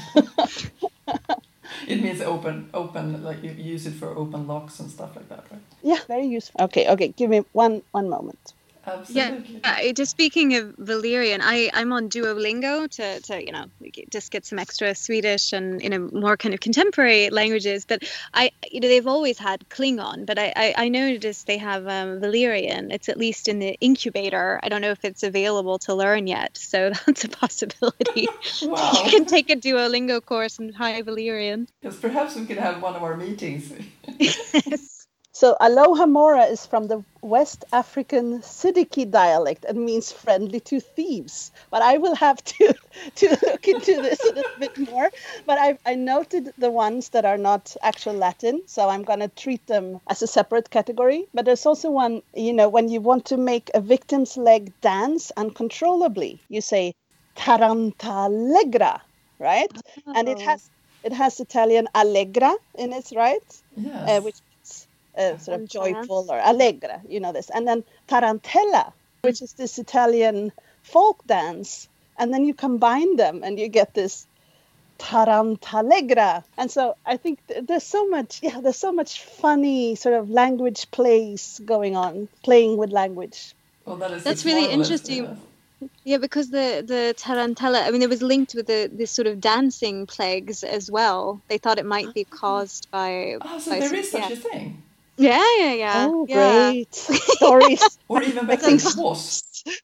It means open, open, like you use it for open locks and stuff like that, right? Yeah, very useful. Okay, okay. Give me one one moment. Absolutely. Yeah, uh, just speaking of Valyrian, I, I'm on Duolingo to, to, you know, just get some extra Swedish and, you know, more kind of contemporary languages. But I, you know, they've always had Klingon, but I, I, I noticed they have um, Valyrian. It's at least in the incubator. I don't know if it's available to learn yet. So that's a possibility. Wow. You can take a Duolingo course in High Valyrian. Yes, perhaps we could have one of our meetings. Yes. So Alohomora is from the West African Siddiqui dialect and means friendly to thieves. But I will have to, to look into this a little bit more. But I, I noted the ones that are not actual Latin, so I'm going to treat them as a separate category. But there's also one, you know, when you want to make a victim's leg dance uncontrollably, you say tarantallegra, right? Oh. And it has it has Italian allegra in it, right? Yes. Uh, which Uh, sort of joyful or allegra, you know this. And then tarantella, which is this Italian folk dance. And then you combine them and you get this tarantallegra. And so I think th- there's so much, yeah, there's so much funny sort of language plays going on, playing with language. Well, that is That's it's really marvelous, interesting. yeah. Yeah, because the, the tarantella, I mean, it was linked with the this sort of dancing plagues as well. They thought it might be caused by... Oh, so by there some- is such yeah. a thing. Yeah, yeah, yeah. Oh, yeah. great stories. Or even better, it was.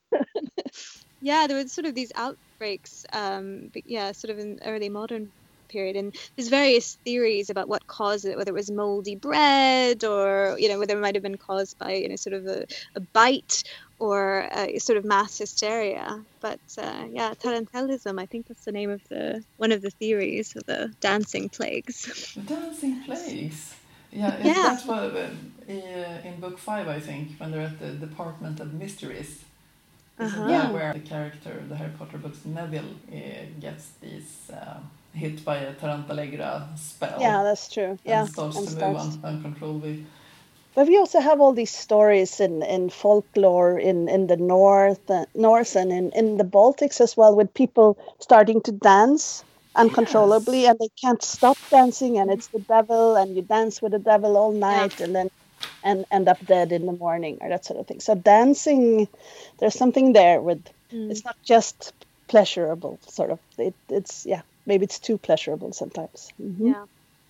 Yeah, there were sort of these outbreaks, um, but yeah, sort of in early modern period. And there's various theories about what caused it, whether it was moldy bread or, you know, whether it might have been caused by, you know, sort of a, a bite or a sort of mass hysteria. But uh, yeah, tarantellism, I think that's the name of the one of the theories of the dancing plagues. The dancing plagues. Yeah, it, Yeah. that's what uh, in book five, I think, when they're at the Department of Mysteries. This Uh-huh. is Yeah. where the character, the Harry Potter books, Neville, uh, gets these uh, hit by a Tarantallegra spell. Yeah, that's true. Yeah, And starts and to starts- move un- uncontrollably. But we also have all these stories in, in folklore in, in the north, uh, north and in, in the Baltics as well, with people starting to dance uncontrollably Yes. and they can't stop dancing, and it's the devil, and you dance with the devil all night and then and end up dead in the morning or that sort of thing. So dancing, there's something there with Mm. it's not just pleasurable, sort of. It, it's yeah, maybe it's too pleasurable sometimes. Mhm. Yeah.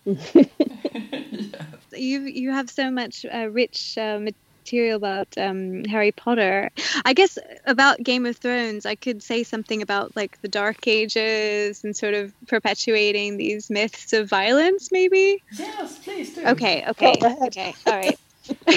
You you have so much uh, rich uh, material about um, Harry Potter. I guess about Game of Thrones, I could say something about like the Dark Ages and sort of perpetuating these myths of violence, maybe. Yes, please do. Okay, okay, Go ahead. okay, all right.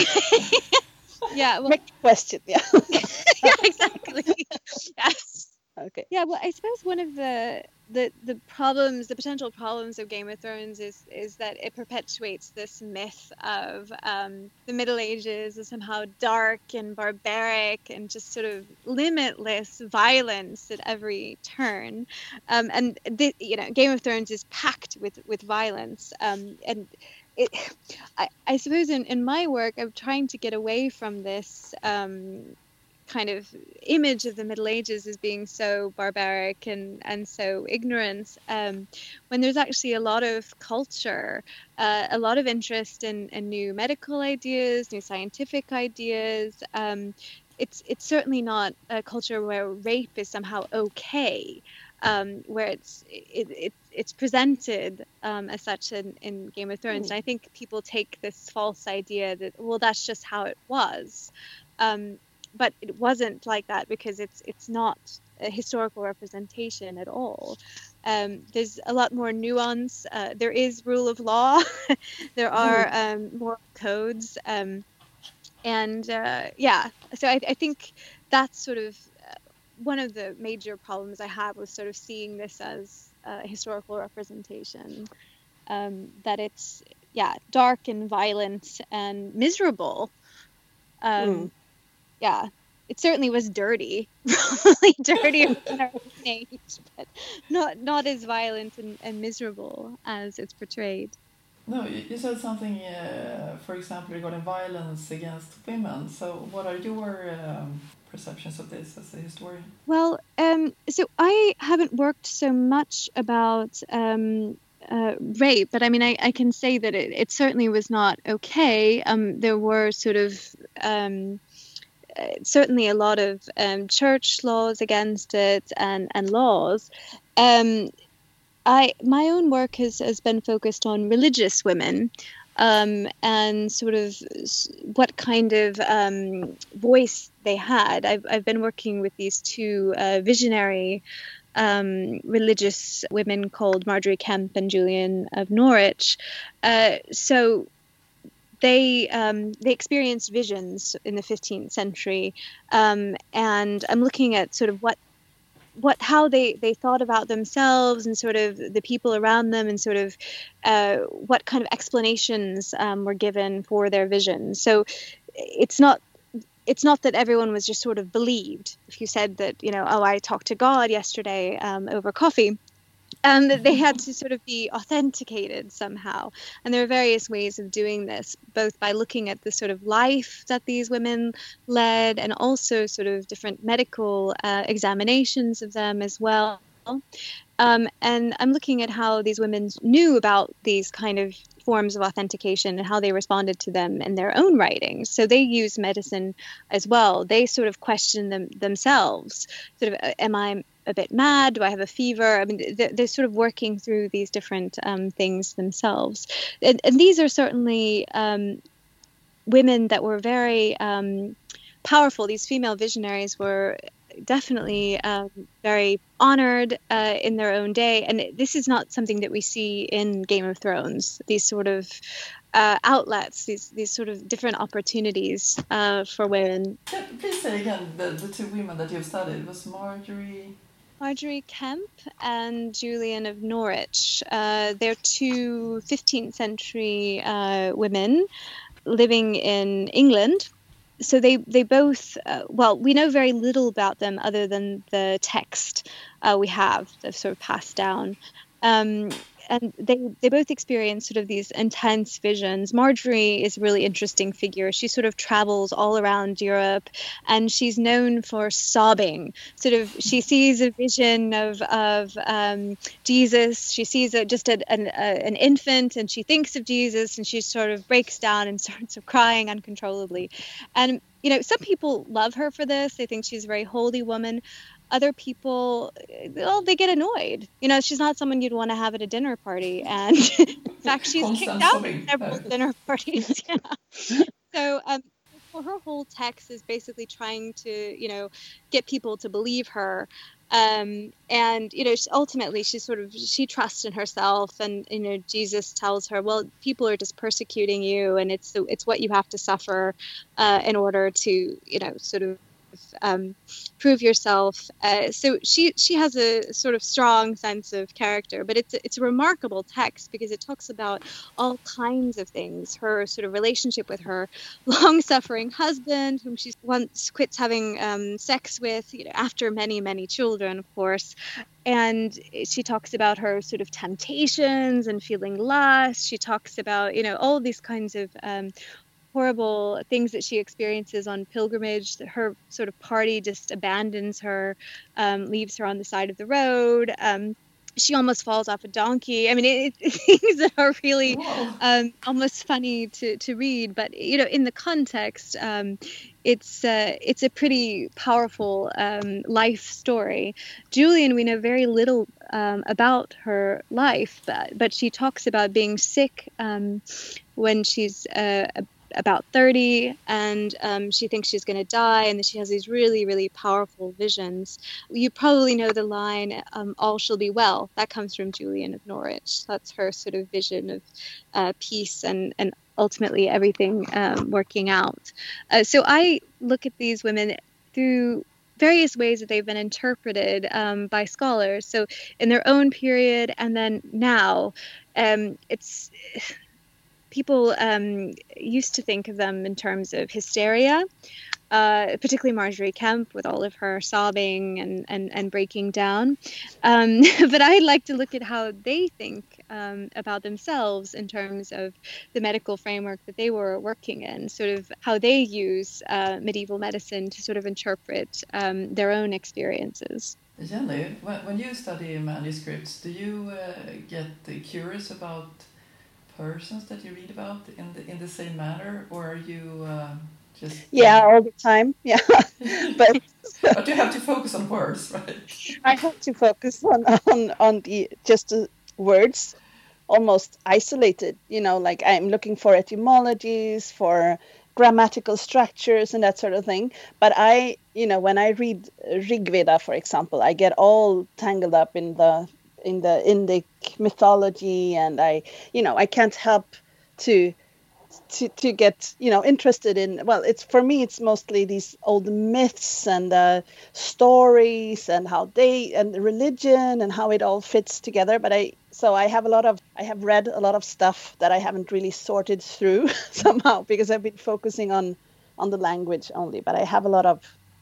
Yeah, well, Make the question, yeah. yeah, exactly. Yes. Okay. Yeah, well, I suppose one of the the the problems, the potential problems of Game of Thrones is is that it perpetuates this myth of um, the Middle Ages as somehow dark and barbaric and just sort of limitless violence at every turn. Um, and the, you know, Game of Thrones is packed with with violence. Um, and it, I, I suppose in, in my work, I'm trying to get away from this. Um, kind of image of the Middle Ages as being so barbaric and and so ignorant, um, when there's actually a lot of culture, uh, a lot of interest in, in new medical ideas, new scientific ideas. Um, it's it's certainly not a culture where rape is somehow okay, um, where it's it, it it's presented um, as such in, in Game of Thrones. Mm. And I think people take this false idea that, well, that's just how it was. Um, but it wasn't like that because it's it's not a historical representation at all. Um, there's a lot more nuance. Uh, there is rule of law. There are um, moral codes, um, and uh, yeah. So I, I think that's sort of uh, one of the major problems I had was sort of seeing this as a historical representation. Um, that it's yeah dark and violent and miserable. Um, Mm. yeah, it certainly was dirty, probably dirtier than our own age, but not not as violent and, and miserable as it's portrayed. No, you you said something, uh, for example, regarding violence against women. So, what are your um, perceptions of this as a historian? Well, um, so I haven't worked so much about um, uh, rape, but I mean, I, I can say that it, it certainly was not okay. Um, there were sort of um, uh, certainly a lot of um, church laws against it and, and laws. Um, I my own work has, has been focused on religious women, um, and sort of s- what kind of um, voice they had. I've I've been working with these two uh, visionary um, religious women called Marjorie Kemp and Julian of Norwich. Uh, so they um, they experienced visions in the fifteenth century, um, and I'm looking at sort of what what how they they thought about themselves and sort of the people around them and sort of uh, what kind of explanations um, were given for their visions. So it's not it's not that everyone was just sort of believed. If you said that, you know, oh, I talked to God yesterday um, over coffee, um, that they had to sort of be authenticated somehow. And there are various ways of doing this, both by looking at the sort of life that these women led and also sort of different medical uh, examinations of them as well. Um, and I'm looking at how these women knew about these kind of forms of authentication and how they responded to them in their own writings. So they use medicine as well. They sort of question them themselves. Sort of, am I a bit mad? Do I have a fever? I mean, they're, they're sort of working through these different um, things themselves. And, and these are certainly um, women that were very um, powerful. These female visionaries were definitely um, very honored uh, in their own day. And this is not something that we see in Game of Thrones, these sort of uh, outlets, these these sort of different opportunities uh, for women. Yeah, please say again the, the two women that you've studied. It was Marjorie. Marjorie Kemp and Julian of Norwich. Uh, they're two fifteenth century uh, women living in England. So they they both uh, well, we know very little about them other than the text uh, we have that's sort of passed down. Um, and they they both experience sort of these intense visions. Marjorie is a really interesting figure. She sort of travels all around Europe, and she's known for sobbing. Sort of, she sees a vision of of um, Jesus. She sees a, just a, an a, an infant, and she thinks of Jesus, and she sort of breaks down and starts crying uncontrollably. And you know, some people love her for this. They think she's a very holy woman. Other people, well, they get annoyed. You know, she's not someone you'd want to have at a dinner party. And in fact, she's kicked out of several dinner parties. Yeah. So um, well, her whole text is basically trying to, you know, get people to believe her. Um, and, you know, ultimately she sort of, she trusts in herself, and, you know, Jesus tells her, well, people are just persecuting you, and it's, it's what you have to suffer uh, in order to, you know, sort of um, prove yourself. Uh, so she she has a sort of strong sense of character, but it's it's a remarkable text because it talks about all kinds of things. Her sort of relationship with her long-suffering husband, whom she once quits having um, sex with, you know, after many many children, of course. And she talks about her sort of temptations and feeling lust. She talks about, you know, all these kinds of um, horrible things that she experiences on pilgrimage. Her sort of party just abandons her, um, leaves her on the side of the road. Um, she almost falls off a donkey. I mean, it, it, things that are really um, almost funny to, to read. But, you know, in the context, um, it's uh, it's a pretty powerful um, life story. Julian, we know very little um, about her life, but, but she talks about being sick um, when she's uh, about thirty, and um, she thinks she's going to die, and then she has these really, really powerful visions. You probably know the line, um, all shall be well. That comes from Julian of Norwich. That's her sort of vision of uh, peace and, and ultimately everything um, working out. Uh, so I look at these women through various ways that they've been interpreted um, by scholars. So in their own period and then now, um, it's... people um, used to think of them in terms of hysteria, uh, particularly Marjorie Kemp with all of her sobbing and, and, and breaking down. Um, but I'd like to look at how they think um, about themselves in terms of the medical framework that they were working in, sort of how they use uh, medieval medicine to sort of interpret um, their own experiences. Jenny, when, when you study manuscripts, do you uh, get curious about persons that you read about in the in the same manner, or are you uh, just yeah all the time? Yeah. but but you have to focus on words, right? I have to focus on on on the just the words, almost isolated, you know, like I'm looking for etymologies, for grammatical structures and that sort of thing. But I, you know, when I read Rig Veda, for example, I get all tangled up in the in the Indic mythology, and I, you know, I can't help to to to get, you know, interested in, well, it's for me it's mostly these old myths and uh, stories and how they and religion and how it all fits together. But I so I have a lot of I have read a lot of stuff that I haven't really sorted through somehow because I've been focusing on on the language only. But I have a lot of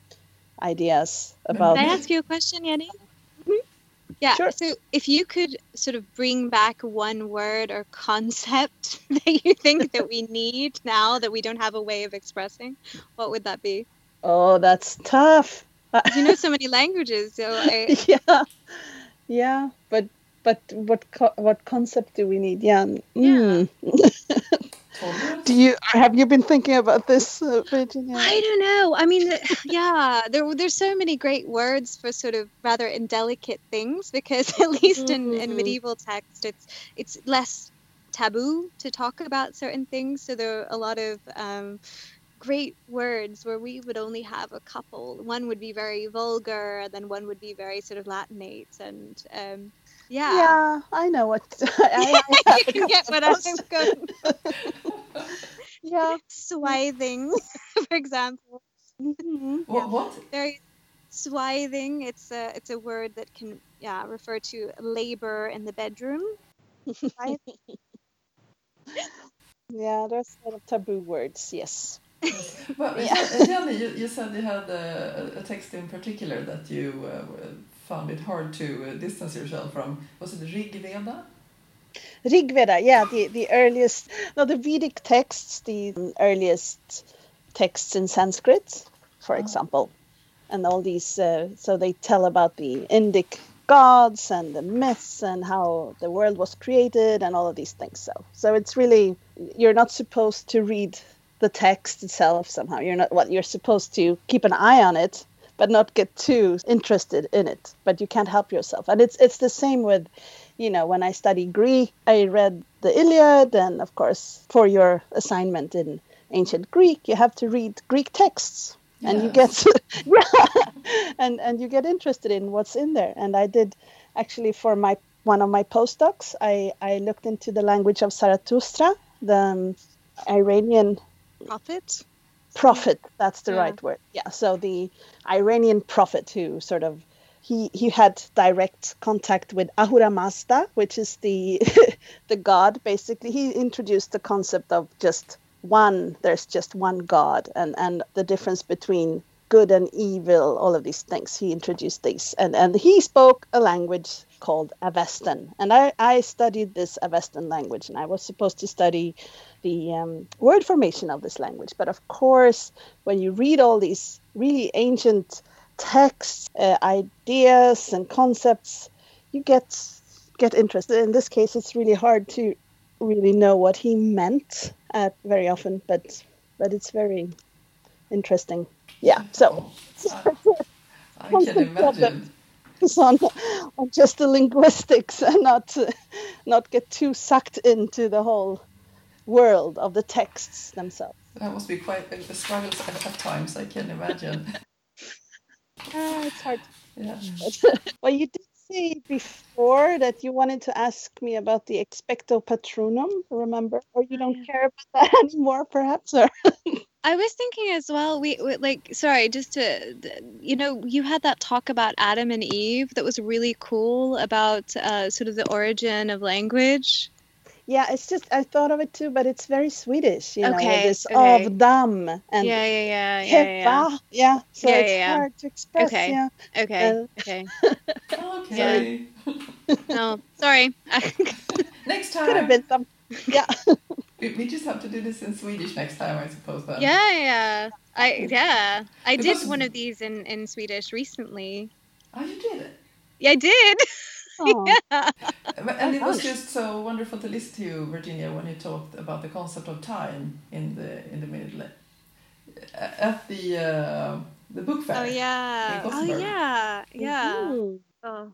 ideas about. Can I ask you a question, Jenny? Yeah, Sure. So if you could sort of bring back one word or concept that you think that we need now that we don't have a way of expressing, what would that be? Oh, that's tough. You know so many languages, so I... yeah, yeah, but but what co- what concept do we need? Yeah. Mm. Do you have you been thinking about this, uh, Virginia? I don't know. I mean, yeah, there there's so many great words for sort of rather indelicate things, because at least in, Mm-hmm. in medieval text, it's it's less taboo to talk about certain things. So there are a lot of um, great words where we would only have a couple. One would be very vulgar, and then one would be very sort of Latinate, and um, yeah. Yeah, I know what. I, I you can get what I'm going. Yeah, Swathing, for example. mm-hmm. What? What? Very swathing. It's a it's a word that can yeah refer to labor in the bedroom. Yeah, there's a lot of taboo words. Yes. Yes. Well, Yeah. Jenny, you, you said you had a, a text in particular that you uh, found it hard to uh, distance yourself from. Was it Rig Veda? Rig Veda, yeah, the, the earliest, no, the Vedic texts, the earliest texts in Sanskrit, for Oh. example, and all these, uh, so they tell about the Indic gods and the myths and how the world was created and all of these things. So, so it's really, you're not supposed to read the text itself somehow. You're not, what well, you're supposed to keep an eye on it, but not get too interested in it. But you can't help yourself. And it's it's the same with, you know, when I study Greek, I read the Iliad, and of course, for your assignment in ancient Greek, you have to read Greek texts, yes. and you get yeah, and and you get interested in what's in there. And I did actually for my one of my postdocs, I I looked into the language of Zarathustra, the um, Iranian prophet. prophet, that's the Yeah. right word. Yeah, so the Iranian prophet who sort of he he had direct contact with Ahura Mazda, which is the the god. Basically, he introduced the concept of just one. There's just one God, and and the difference between good and evil. All of these things. He introduced these, and and he spoke a language called Avestan, and I I studied this Avestan language, and I was supposed to study the um, word formation of this language. But of course, when you read all these really ancient texts, uh, ideas, and concepts, you get get interested. In this case, it's really hard to really know what he meant uh, very often, but but it's very interesting. Yeah. So I can imagine. it's on on just the linguistics and not uh, not get too sucked into the whole world of the texts themselves. That must be quite a struggle at, at times, I can imagine. Uh, it's hard. Yeah. Well, you did say before that you wanted to ask me about the expecto patronum, remember? Or you don't care about that anymore, perhaps? Or I was thinking as well, we, we like, sorry, just to, you know, you had that talk about Adam and Eve that was really cool about uh, sort of the origin of language. yeah, it's just I thought of it too, but it's very Swedish, you know, Okay, this okay. of dam and Yeah, yeah, yeah, yeah, yeah. heppa. Yeah, so Yeah, it's yeah, yeah. hard to express. Okay. Yeah. Okay, Uh, okay. Okay. No, sorry. Next Could have time. been some. Yeah. We, we just have to do this in Swedish next time, I suppose. Then. Yeah, yeah. I yeah. I Because- did one of these in, in Swedish recently. Oh, you did it. Yeah, I did. Oh. Yeah. But- And it was fun. just so wonderful to listen to you, Virginia, when you talked about the concept of time in the in the middle at the uh, the book fair. Oh yeah. in Oh Gothenburg. yeah. Yeah. Mhm. Oh.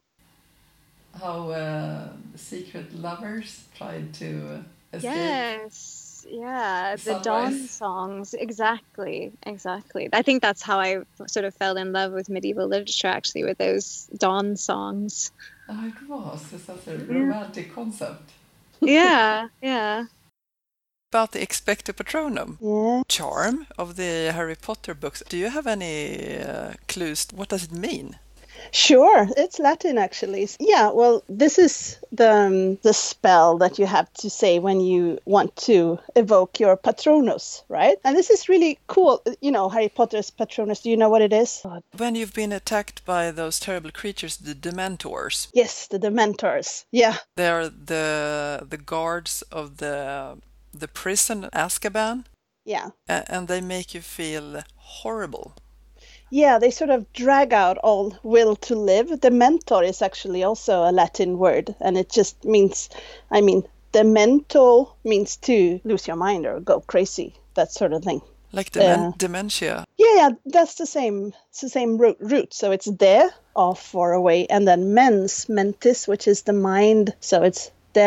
How uh, secret lovers tried to uh, escape. Yes. Yeah. The dawn Sunrise. songs. Exactly. Exactly. I think that's how I sort of fell in love with medieval literature, actually, with those dawn songs. Oh, it was. It's such a romantic concept. Yeah. Yeah. About the expecto patronum Yeah. charm of the Harry Potter books, do you have any uh, clues? What does it mean? Sure, it's Latin actually. Yeah, well, this is the um, the spell that you have to say when you want to evoke your Patronus, right? And this is really cool. You know, Harry Potter's Patronus. Do you know what it is? When you've been attacked by those terrible creatures, the Dementors, Yes, the Dementors. Yeah, they are the the guards of the the prison Azkaban, yeah. a- and they make you feel horrible. Yeah, they sort of drag out all will to live. Dementor is actually also a Latin word, and it just means, I mean, demento means to lose your mind or go crazy, that sort of thing. Like demen- Yeah. dementia. Yeah, yeah, that's the same. It's the same root. root. So it's de, off, far away, and then mens, mentis, which is the mind. So it's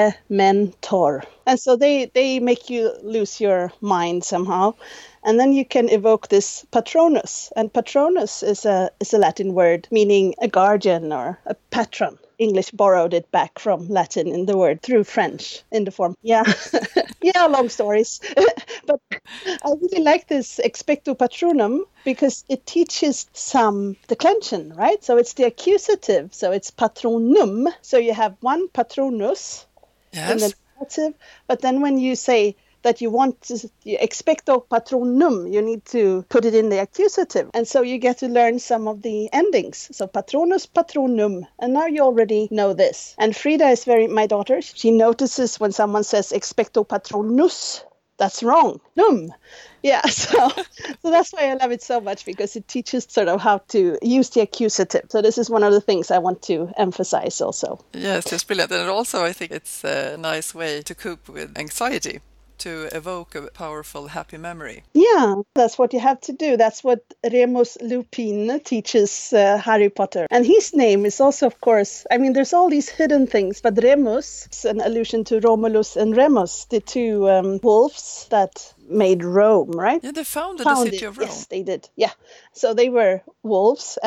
dementor, and so they they make you lose your mind somehow, and then you can evoke this Patronus. And Patronus is a is a Latin word meaning a guardian or a patron. English borrowed it back from Latin in the word through French in the form. Yeah, yeah, long stories. But I really like this expecto patronum because it teaches some declension, right? So it's the accusative. So it's patronum. So you have one patronus in the Yes. nominative, but then when you say that you want to you expecto patronum, you need to put it in the accusative. And so you get to learn some of the endings. So patronus, patronum. And now you already know this. And Frida is very, my daughter, she notices when someone says expecto patronus, that's wrong. Num. Yeah, so so that's why I love it so much, because it teaches sort of how to use the accusative. So this is one of the things I want to emphasize also. Yes, it's brilliant. And also I think it's a nice way to cope with anxiety, to evoke a powerful, happy memory. Yeah, that's what you have to do. That's what Remus Lupin teaches uh, Harry Potter. And his name is also, of course, I mean, there's all these hidden things, but Remus is an allusion to Romulus and Remus, the two um, wolves that made Rome, right? Yeah, they founded Founded, the city of Rome. Yes, they did. Yeah. So they were wolves, and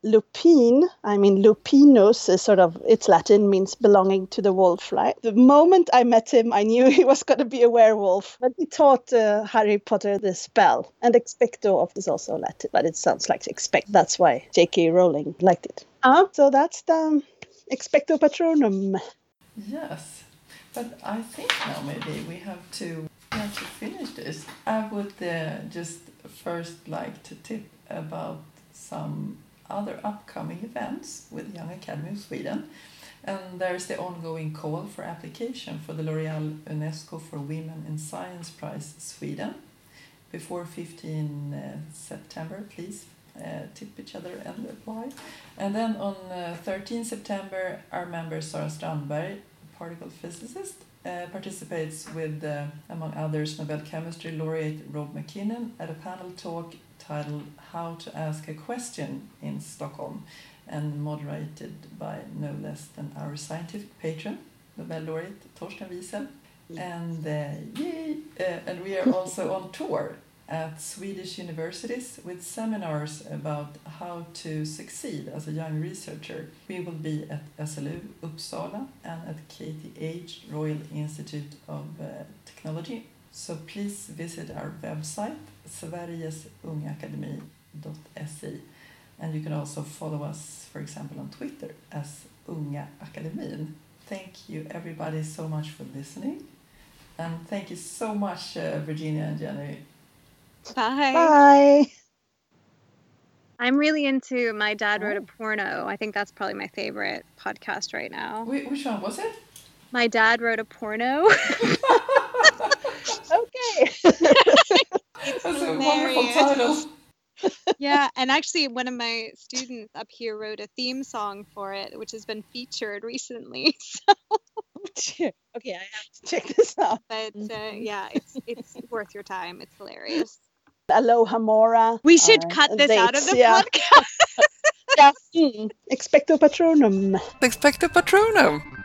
lupine, I mean lupinus is sort of, it's Latin, means belonging to the wolf, right? The moment I met him, I knew he was going to be a werewolf. But he taught uh, Harry Potter the spell. And expecto of is also Latin, but it sounds like expect. That's why J K Rowling liked it. Uh, so that's the expecto patronum. Yes, but I think now maybe we have to, we have to finish this. I would uh, just first like to tip about some other upcoming events with Young Academy of Sweden. And there's the ongoing call for application for the L'Oréal UNESCO for Women in Science Prize Sweden. Before fifteenth September, please uh, tip each other and apply. And then on uh, thirteenth September, our member Sara Strandberg, particle physicist, uh, participates with, uh, among others, Nobel Chemistry laureate Rob McKinnon at a panel talk titled How to Ask a Question in Stockholm, and moderated by no less than our scientific patron, Nobel laureate Torsten Wiesel. And uh, yay! Uh, and we are also on tour at Swedish universities with seminars about how to succeed as a young researcher. We will be at S L U Uppsala and at K T H, Royal Institute of uh, Technology. So please visit our website, sveriges unga akademi dot se, and you can also follow us, for example, on Twitter as Unga Akademin. Thank you everybody so much for listening, and thank you so much, uh, Virginia and Jenny. Bye. Bye. I'm really into My Dad Wrote a Porno. I think that's probably my favorite podcast right now. Wait, which one was it? My Dad Wrote a Porno. Okay. That's a wonderful title. Yeah, and actually one of my students up here wrote a theme song for it, which has been featured recently. So. Okay, I have to check this out. But uh, yeah, it's it's worth your time. It's hilarious. Aloha Mora. We should uh, cut this dates, out of the yeah. podcast. Yeah. Mm. Expecto patronum. Expecto Patronum.